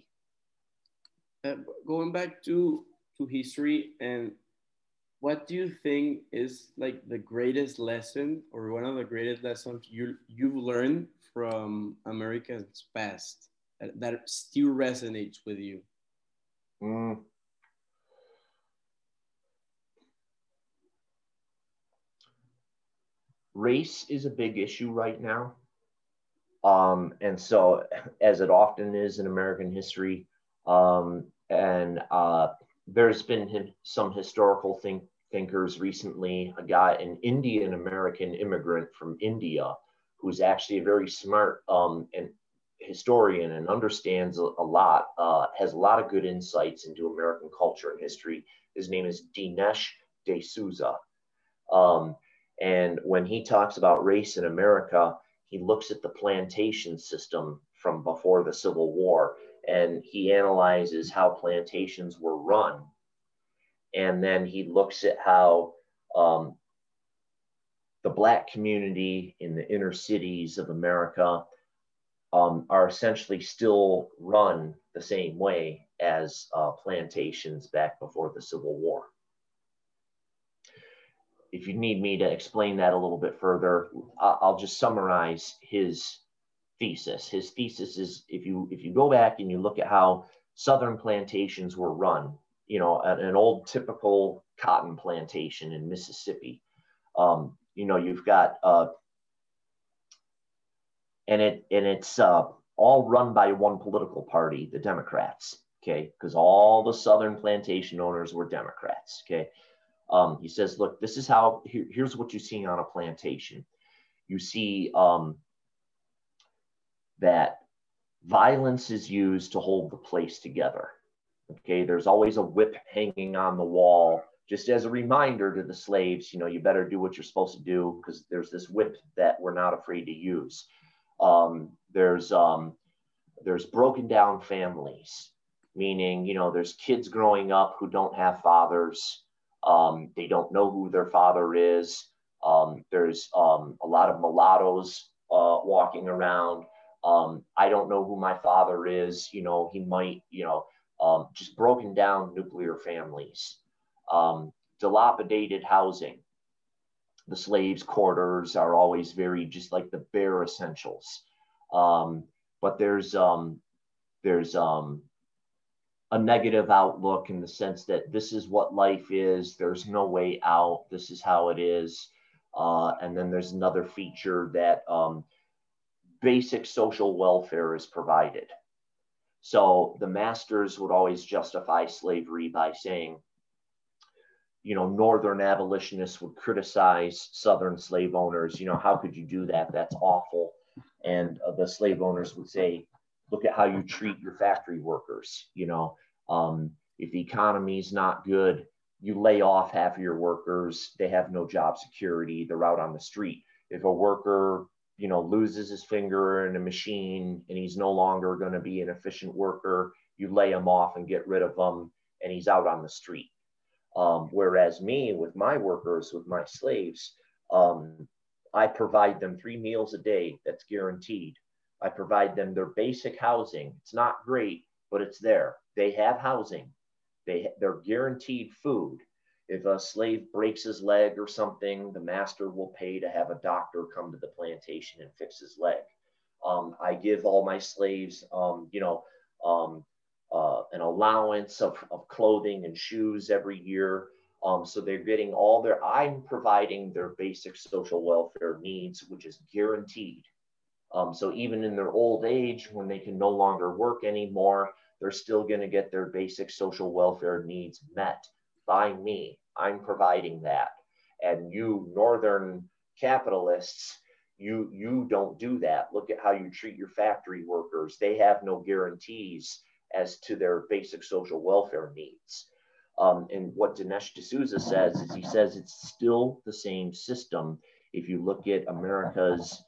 Uh, going back to to history, and what do you think is like the greatest lesson or one of the greatest lessons you you've learned from America's past that, that still resonates with you? Mm. Race is a big issue right now. Um, and so, as it often is in American history, um, and uh, there's been some historical think, thinkers recently, a guy, an Indian American immigrant from India, who's actually a very smart um, and historian and understands a, a lot, uh, has a lot of good insights into American culture and history. His name is Dinesh D'Souza. Um, and when he talks about race in America, he looks at the plantation system from before the Civil War, and he analyzes how plantations were run. And then he looks at how um, the Black community in the inner cities of America um, are essentially still run the same way as uh, plantations back before the Civil War. If you need me to explain that a little bit further, I'll just summarize his thesis. His thesis is if you if you go back and you look at how Southern plantations were run, you know, an old typical cotton plantation in Mississippi, um, you know, you've got uh, and it and it's uh, all run by one political party, the Democrats. okay, because all the Southern plantation owners were Democrats, okay. Um, he says, look, this is how, here, here's what you see on a plantation. You see um, that violence is used to hold the place together. Okay, there's always a whip hanging on the wall, just as a reminder to the slaves, you know, you better do what you're supposed to do because there's this whip that we're not afraid to use. Um, there's um, there's broken down families, meaning, you know, there's kids growing up who don't have fathers. Um, they don't know who their father is. Um, there's um, a lot of mulattoes uh, walking around. Um, I don't know who my father is. You know, he might, you know, um, just broken down nuclear families. Um, dilapidated housing. The slaves' quarters are always very just like the bare essentials. Um, but there's um, there's um, a negative outlook in the sense that this is what life is. There's no way out. This is how it is. Uh, and then there's another feature that um, basic social welfare is provided. So the masters would always justify slavery by saying, you know, Northern abolitionists would criticize Southern slave owners. You know, how could you do that? That's awful. And uh, the slave owners would say, look at how you treat your factory workers. You know, um, if the economy is not good, you lay off half of your workers. They have no job security. They're out on the street. If a worker, you know, loses his finger in a machine and he's no longer going to be an efficient worker, you lay him off and get rid of him and he's out on the street. Um, whereas me, with my workers, with my slaves, um, I provide them three meals a day. That's guaranteed. I provide them their basic housing. It's not great, but it's there. They have housing. They, they're guaranteed food. If a slave breaks his leg or something, the master will pay to have a doctor come to the plantation and fix his leg. Um, I give all my slaves, um, you know, um, uh, an allowance of, of clothing and shoes every year. Um, so they're getting all their, I'm providing their basic social welfare needs, which is guaranteed. Um, so even in their old age, when they can no longer work anymore, they're still going to get their basic social welfare needs met by me. I'm providing that. And you Northern capitalists, you, you don't do that. Look at how you treat your factory workers. They have no guarantees as to their basic social welfare needs. Um, and what Dinesh D'Souza says is he says it's still the same system. If you look at America's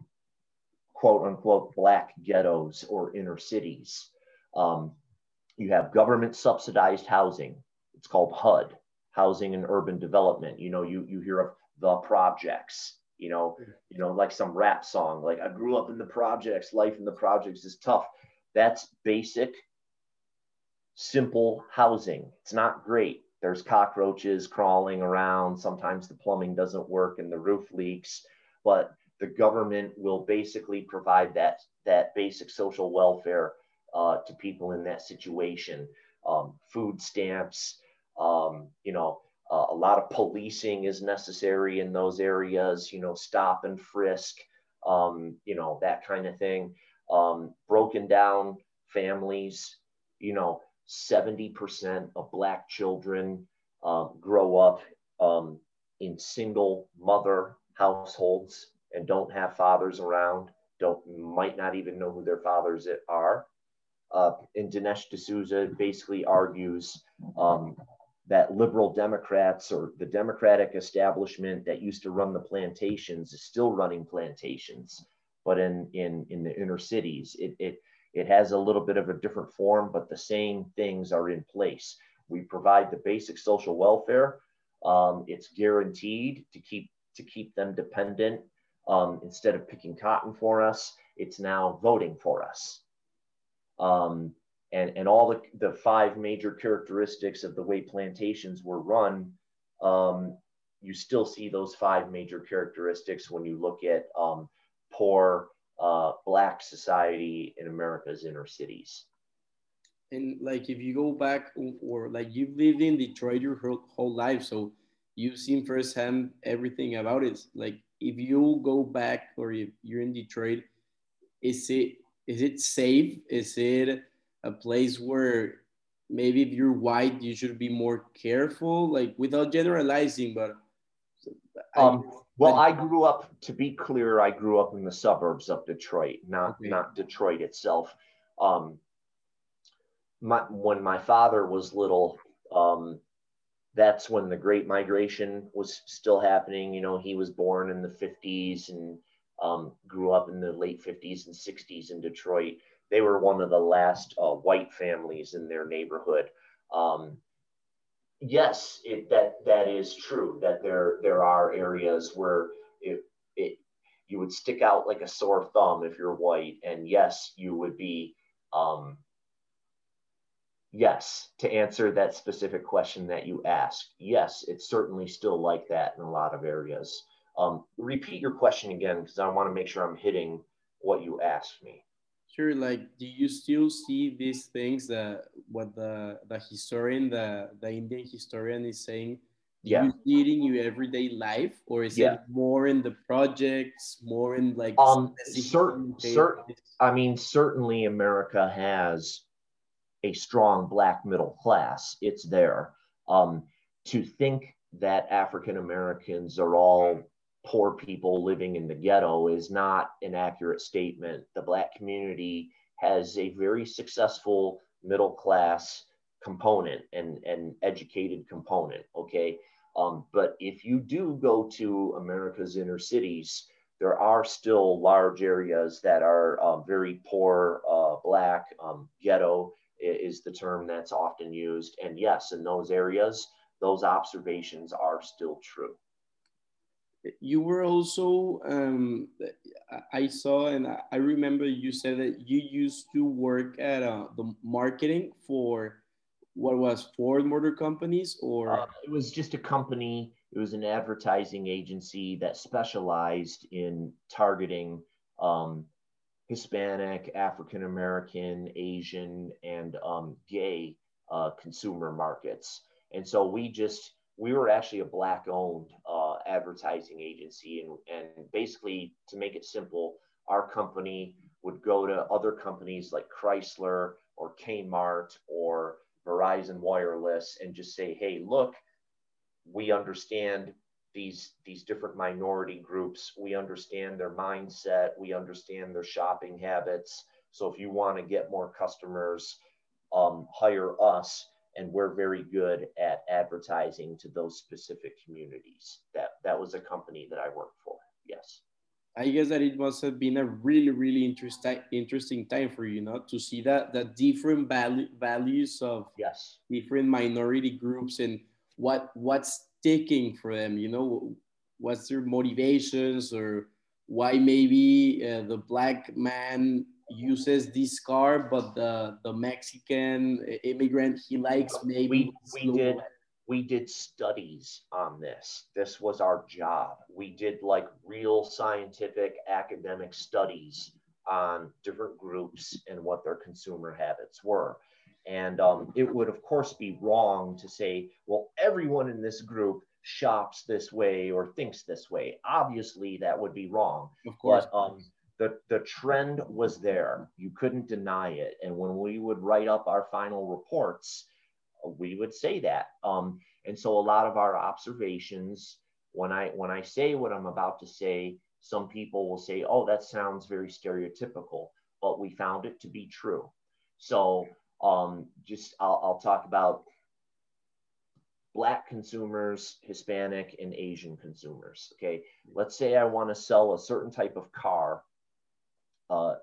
quote unquote black ghettos or inner cities, um, you have government subsidized housing. It's called H U D, Housing and Urban Development. You know, you, you hear of the projects, you know, you know, like some rap song, like I grew up in the projects, life in the projects is tough. That's basic, simple housing. It's not great. There's cockroaches crawling around. Sometimes the plumbing doesn't work and the roof leaks, but the government will basically provide that, that basic social welfare uh, to people in that situation. Um, food stamps, um, you know, uh, a lot of policing is necessary in those areas, you know, stop and frisk, um, you know, that kind of thing. Um, broken down families, you know, seventy percent of Black children uh, grow up um, in single mother households and don't have fathers around, don't, might not even know who their fathers are. Uh, and Dinesh D'Souza basically argues um, that liberal Democrats or the Democratic establishment that used to run the plantations is still running plantations, but in, in, in the inner cities. It, it, it has a little bit of a different form, but the same things are in place. We provide the basic social welfare. Um, it's guaranteed to keep, to keep them dependent. Um, instead of picking cotton for us, it's now voting for us. Um, and, and all the, the five major characteristics of the way plantations were run, um, you still see those five major characteristics when you look at um, poor uh, Black society in America's inner cities. And like if you go back, or, or like you've lived in Detroit your whole, whole life, so you've seen firsthand everything about it. Like if you go back, or if you're in Detroit, is it is it safe? Is it a place where maybe if you're white, you should be more careful, like without generalizing, but I Um, well, that I grew up, to be clear, I grew up in the suburbs of Detroit, not okay. not Detroit itself. Um, my, when my father was little, um, that's when the Great Migration was still happening. You know, he was born in the fifties and um, grew up in the late fifties and sixties in Detroit. They were one of the last uh, white families in their neighborhood. Um, yes, it, that that is true. That there there are areas where it it you would stick out like a sore thumb if you're white, and yes, you would be. Um, yes, to answer that specific question that you asked, yes, it's certainly still like that in a lot of areas. Um, repeat your question again because I want to make sure I'm hitting what you asked me. Sure, like do you still see these things that what the the historian, the the Indian historian is saying? Do Yeah, you see it in your everyday life, or is yeah. it more in the projects, more in like Um, specific cert, cert, I mean, certainly America has a strong black middle class. It's there. Um, to think that African Americans are all poor people living in the ghetto is not an accurate statement. The black community has a very successful middle class component and an educated component. Okay. Um, but if you do go to America's inner cities, there are still large areas that are uh, very poor, uh, black, um, ghetto is the term that's often used. And yes, in those areas, those observations are still true. You were also um, I saw and I remember you said that you used to work at uh, the marketing for what was Ford Motor Companies Uh, or it was just a company, it was an advertising agency that specialized in targeting um, Hispanic, African American, Asian, and um, gay uh, consumer markets. And so we just, we were actually a black owned uh, advertising agency. And, and basically, to make it simple, our company would go to other companies like Chrysler or Kmart or Verizon Wireless and just say, hey, look, we understand these these different minority groups, we understand their mindset, we understand their shopping habits. So if you want to get more customers, um, hire us, and we're very good at advertising to those specific communities. That that was a company that I worked for. Yes. I guess that it must have been a really, really interesting interesting time for you, know, to see that the different value, values of Yes. different minority groups and what what's sticking for them. You know, what's their motivations or why maybe uh, the black man uses this car, but the the Mexican immigrant he likes maybe we we slow. did we did studies on this. This was our job. We did like real scientific academic studies on different groups and what their consumer habits were. And um, it would of course be wrong to say, well, everyone in this group shops this way or thinks this way. Obviously that would be wrong. Of course, But um, the, the trend was there. You couldn't deny it. And when we would write up our final reports, we would say that. Um, and so a lot of our observations, when I when I say what I'm about to say, some people will say, "Oh, that sounds very stereotypical," but we found it to be true. So um, just I'll, I'll talk about Black consumers, Hispanic, and Asian consumers. Okay, let's say I want to sell a certain type of car uh,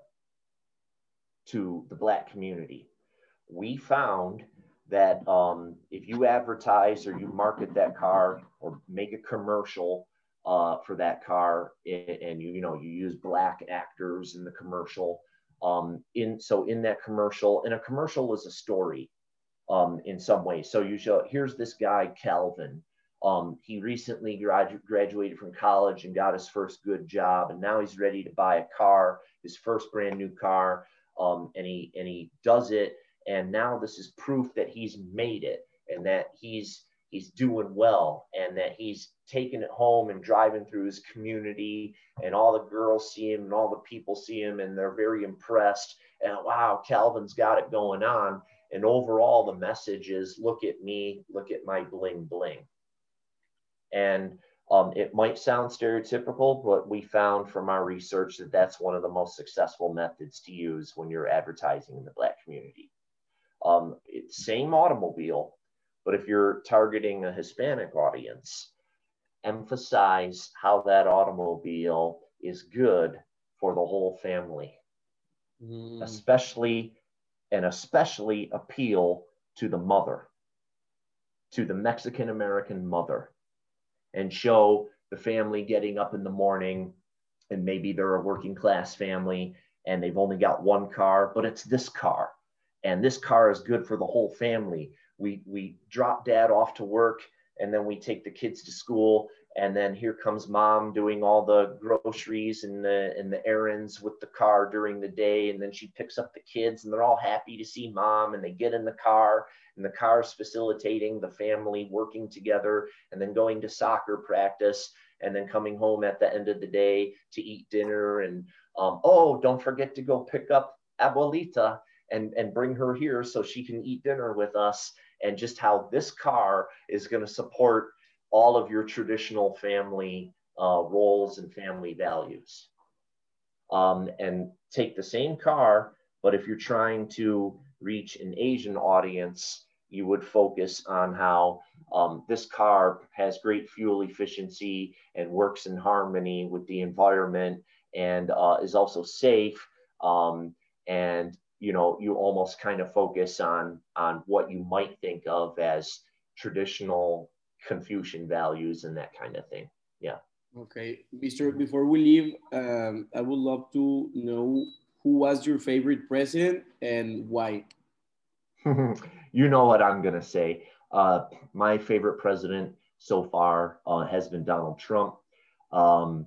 to the Black community. We found that um, if you advertise or you market that car or make a commercial uh, for that car, and you you know you use black actors in the commercial, um, in so in that commercial, and a commercial is a story um, in some ways. So you show, here's this guy Calvin. Um, he recently gradu- graduated from college and got his first good job, and now he's ready to buy a car, his first brand new car, um, and he and he does it, and now this is proof that he's made it and that he's he's doing well and that he's taking it home and driving through his community, and all the girls see him and all the people see him and they're very impressed, and wow, Calvin's got it going on. And overall, the message is, look at me, look at my bling bling. And um, it might sound stereotypical, but we found from our research that that's one of the most successful methods to use when you're advertising in the Black community. Um, it's same automobile, but if you're targeting a Hispanic audience, emphasize how that automobile is good for the whole family, mm. especially and especially appeal to the mother, to the Mexican American mother, and show the family getting up in the morning, and maybe they're a working class family and they've only got one car, but it's this car, and this car is good for the whole family. We, we drop dad off to work, and then we take the kids to school, and then here comes mom doing all the groceries and the, and the errands with the car during the day, and then she picks up the kids, and they're all happy to see mom, and they get in the car, and the car is facilitating the family working together, and then going to soccer practice, and then coming home at the end of the day to eat dinner, and um, oh, don't forget to go pick up Abuelita and, and bring her here so she can eat dinner with us, and just how this car is going to support all of your traditional family uh, roles and family values. Um, and take the same car, but if you're trying to reach an Asian audience, you would focus on how um, this car has great fuel efficiency and works in harmony with the environment, and uh, is also safe. Um, and you know, you almost kind of focus on on what you might think of as traditional Confucian values and that kind of thing. Yeah. Okay, Mister Before we leave, um, I would love to know who was your favorite president and why. You know what I'm gonna say. Uh, my favorite president so far uh, has been Donald Trump. Um,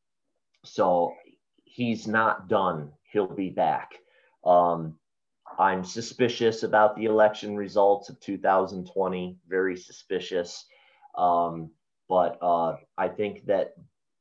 so he's not done. He'll be back. Um, I'm suspicious about the election results of two thousand twenty. Very suspicious. Um, but uh, I think that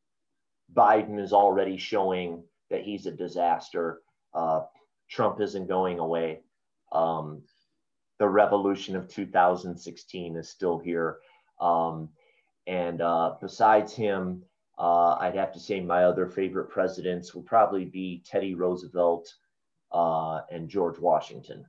Biden is already showing that he's a disaster. Uh, Trump isn't going away. Um, the revolution of two thousand sixteen is still here. Um, and uh, besides him, uh, I'd have to say my other favorite presidents would probably be Teddy Roosevelt uh, and George Washington.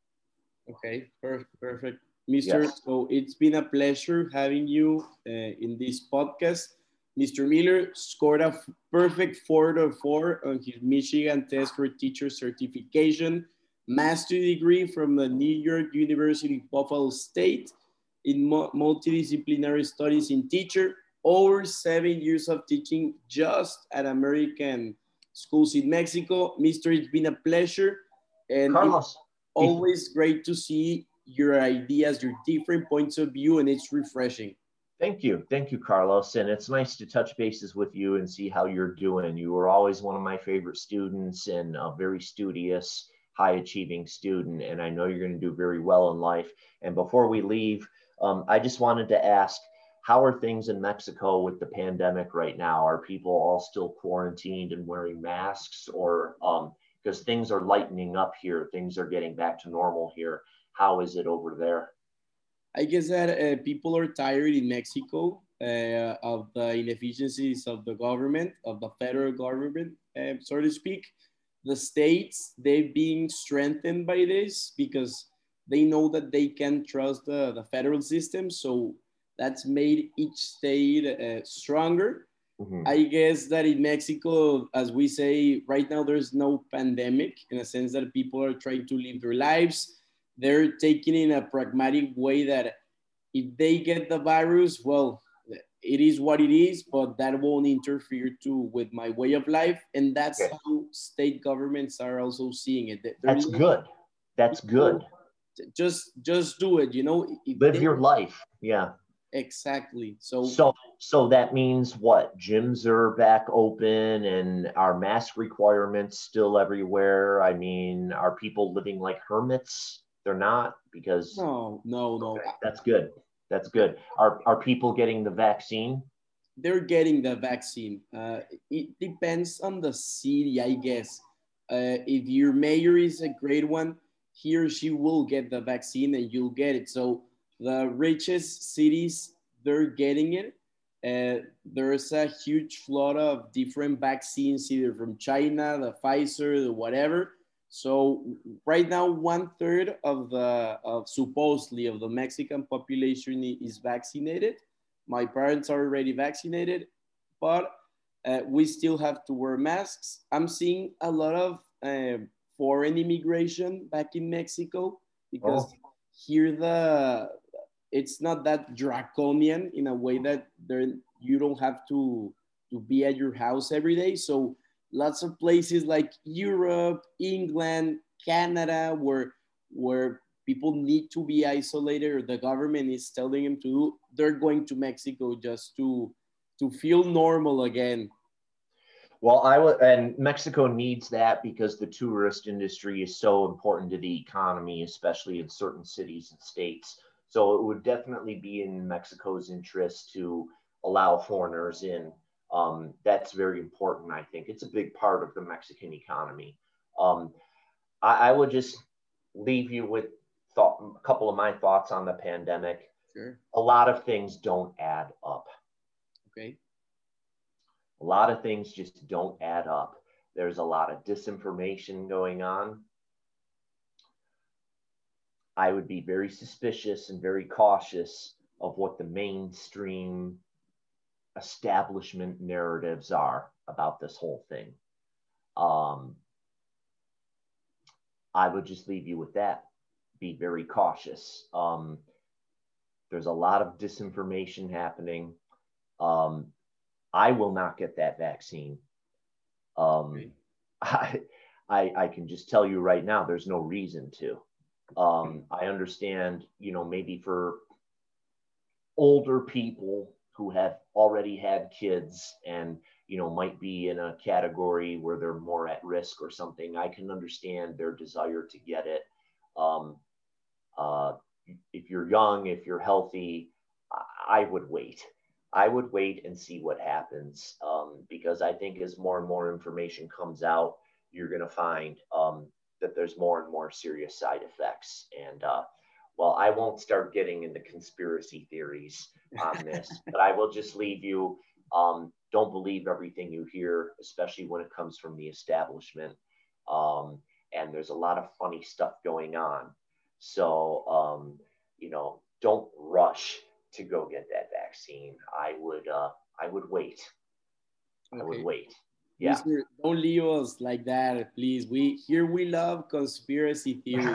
Okay, perfect, perfect. Mister Yes. So it's been a pleasure having you uh, in this podcast. Mister Miller scored a perfect four to four on his Michigan Test for Teacher certification, master degree from the New York University Buffalo State in multidisciplinary studies in teacher, over seven years of teaching just at American schools in Mexico. Mister It's been a pleasure. And Carlos, always great to see your ideas, your different points of view, and it's refreshing. Thank you. Thank you, Carlos. And it's nice to touch bases with you and see how you're doing. You were always one of my favorite students and a very studious, high achieving student. And I know you're going to do very well in life. And before we leave, um, I just wanted to ask, how are things in Mexico with the pandemic right now? Are people all still quarantined and wearing masks, or um, because things are lightening up here, things are getting back to normal here. How is it over there? I guess that uh, people are tired in Mexico uh, of the inefficiencies of the government, of the federal government, uh, so to speak. The states, they've been strengthened by this because they know that they can trust the, the federal system. So that's made each state uh, stronger. Mm-hmm. I guess that in Mexico, as we say, right now there's no pandemic, in a sense that people are trying to live their lives. They're taking in a pragmatic way that if they get the virus, well, it is what it is, but that won't interfere too with my way of life. And that's okay. How state governments are also seeing it. They're that's good. That's good. Just, just do it, you know. Live they, your life. Yeah. Exactly. So, so, so that means what? Gyms are back open, and are mask requirements still everywhere? I mean, are people living like hermits? They're not, because no, no, no. Okay, that's good. That's good. Are are people getting the vaccine? They're getting the vaccine. Uh, it depends on the city, I guess. Uh, if your mayor is a great one, he or she will get the vaccine and you'll get it. So the richest cities, they're getting it. Uh, there's a huge flood of different vaccines, either from China, the Pfizer, the whatever. So right now, one third of the of supposedly of the Mexican population is vaccinated. My parents are already vaccinated, but uh, we still have to wear masks. I'm seeing a lot of uh, foreign immigration back in Mexico because Oh, here the it's not that draconian in a way that there you don't have to to be at your house every day. So lots of places like Europe, England, Canada, where where people need to be isolated or the government is telling them to do, they're going to Mexico just to to feel normal again. well, I would, and Mexico needs that because the tourist industry is so important to the economy, especially in certain cities and states. So it would definitely be in Mexico's interest to allow foreigners in. Um, that's very important, I think. It's a big part of the Mexican economy. Um, I, I would just leave you with thought, a couple of my thoughts on the pandemic. Sure. A lot of things don't add up. Okay. A lot of things just don't add up. There's a lot of disinformation going on. I would be very suspicious and very cautious of what the mainstream establishment narratives are about this whole thing. Um, I would just leave you with that. Be very cautious. Um, there's a lot of disinformation happening. Um, I will not get that vaccine. Um, Okay. I, I, I can just tell you right now, there's no reason to. Um, I understand, you know, maybe for older people who have already had kids and, you know, might be in a category where they're more at risk or something, I can understand their desire to get it. Um, uh, if you're young, if you're healthy, I would wait. I would wait and see what happens um, because I think as more and more information comes out, you're going to find um, that there's more and more serious side effects. And uh, well, I won't start getting into conspiracy theories on this, but I will just leave you. Um, don't believe everything you hear, especially when it comes from the establishment. Um, and there's a lot of funny stuff going on. So, um, you know, don't rush to go get that vaccine. I would, uh, I would wait. I would Okay. wait. Yeah. Mister, don't leave us like that, please. We here we love conspiracy theory.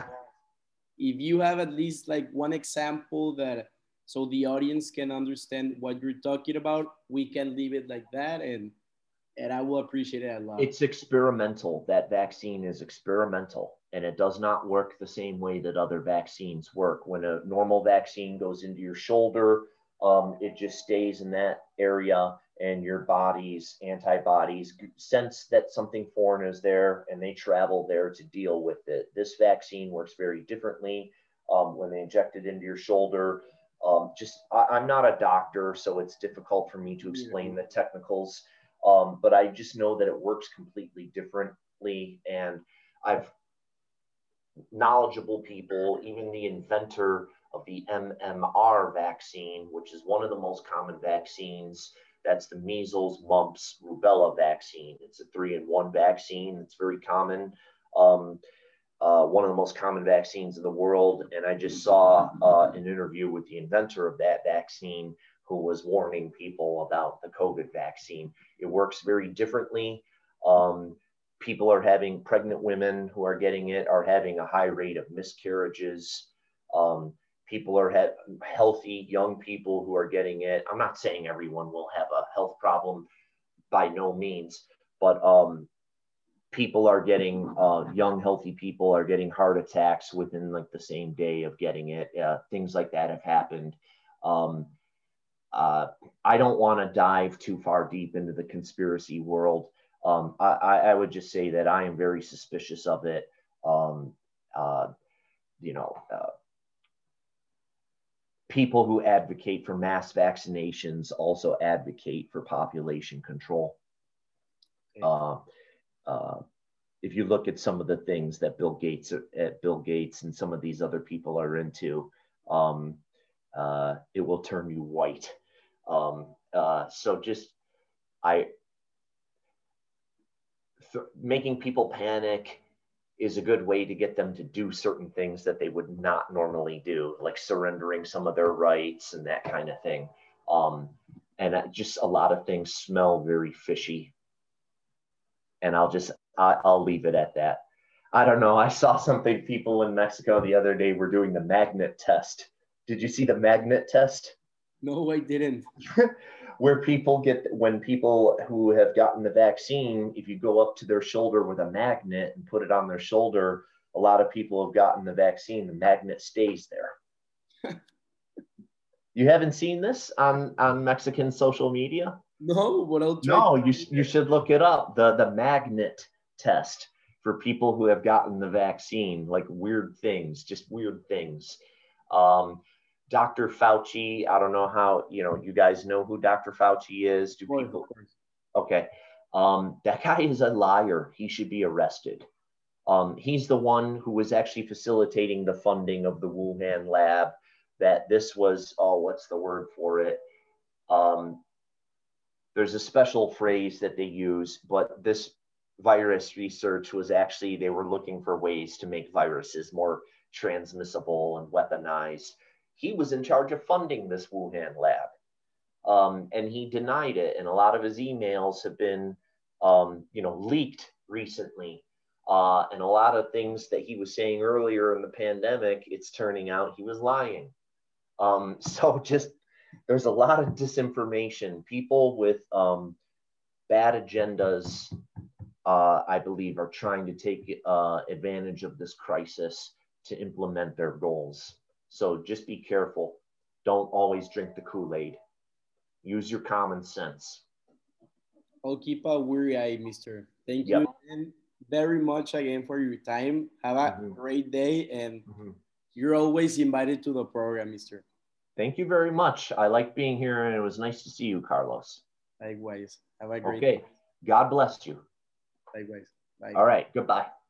If you have at least like one example that so the audience can understand what you're talking about, we can leave it like that and and I will appreciate it a lot. It's experimental. That vaccine is experimental and it does not work the same way that other vaccines work. When a normal vaccine goes into your shoulder, um, it just stays in that area and your body's antibodies sense that something foreign is there and they travel there to deal with it. This vaccine works very differently. Um, when they inject it into your shoulder, um, just I, I'm not a doctor, so it's difficult for me to explain the technicals. Um, but I just know that it works completely differently. And I've knowledgeable people, even the inventor of the M M R vaccine, which is one of the most common vaccines. That's the measles, mumps, rubella vaccine. It's a three in one vaccine. It's very common. Um, uh, one of the most common vaccines in the world. And I just saw uh, an interview with the inventor of that vaccine who was warning people about the COVID vaccine. It works very differently. Um, people are having, pregnant women who are getting it are having a high rate of miscarriages. Um, people are ha- healthy, young people who are getting it. I'm not saying everyone will have a health problem by no means, but um, people are getting, uh, young, healthy people are getting heart attacks within like the same day of getting it. Uh, things like that have happened. Um, uh, I don't want to dive too far deep into the conspiracy world. Um, I, I would just say that I am very suspicious of it. Um, uh, you know, uh, people who advocate for mass vaccinations also advocate for population control. Okay. Uh, uh, if you look at some of the things that Bill Gates at Bill Gates and some of these other people are into, um, uh, it will turn you white. Um, uh, so just I th- making people panic is a good way to get them to do certain things that they would not normally do, like surrendering some of their rights and that kind of thing. Um, and just a lot of things smell very fishy. And I'll just, I, I'll leave it at that. I don't know. I saw something people in Mexico the other day were doing the magnet test. Did you see the magnet test? No, I didn't. Where people get, when people who have gotten the vaccine, if you go up to their shoulder with a magnet and put it on their shoulder, a lot of people have gotten the vaccine, the magnet stays there. You haven't seen this on, on Mexican social media? No, but I'll try. No, you, you should look it up. The, the magnet test for people who have gotten the vaccine, like weird things, just weird things. Um, Doctor Fauci, I don't know how, you know, you guys know who Doctor Fauci is? Do people? Okay. Um, that guy is a liar. He should be arrested. Um, he's the one who was actually facilitating the funding of the Wuhan lab, that this was, oh, what's the word for it? Um, there's a special phrase that they use, but this virus research was actually, they were looking for ways to make viruses more transmissible and weaponized. He was in charge of funding this Wuhan lab. Um, and he denied it. And a lot of his emails have been, um, you know, leaked recently. Uh, and a lot of things that he was saying earlier in the pandemic, it's turning out he was lying. Um, so just, there's a lot of disinformation. People with um, bad agendas, uh, I believe, are trying to take uh, advantage of this crisis to implement their goals. So just be careful. Don't always drink the Kool-Aid. Use your common sense. I'll keep a weary eye, mister. Thank Yep. you again, very much again for your time. Have a Mm-hmm. great day, and Mm-hmm. you're always invited to the program, mister. Thank you very much. I like being here, and it was nice to see you, Carlos. Likewise. Have a great Okay. day. God bless you. Likewise. Bye. All right. Goodbye.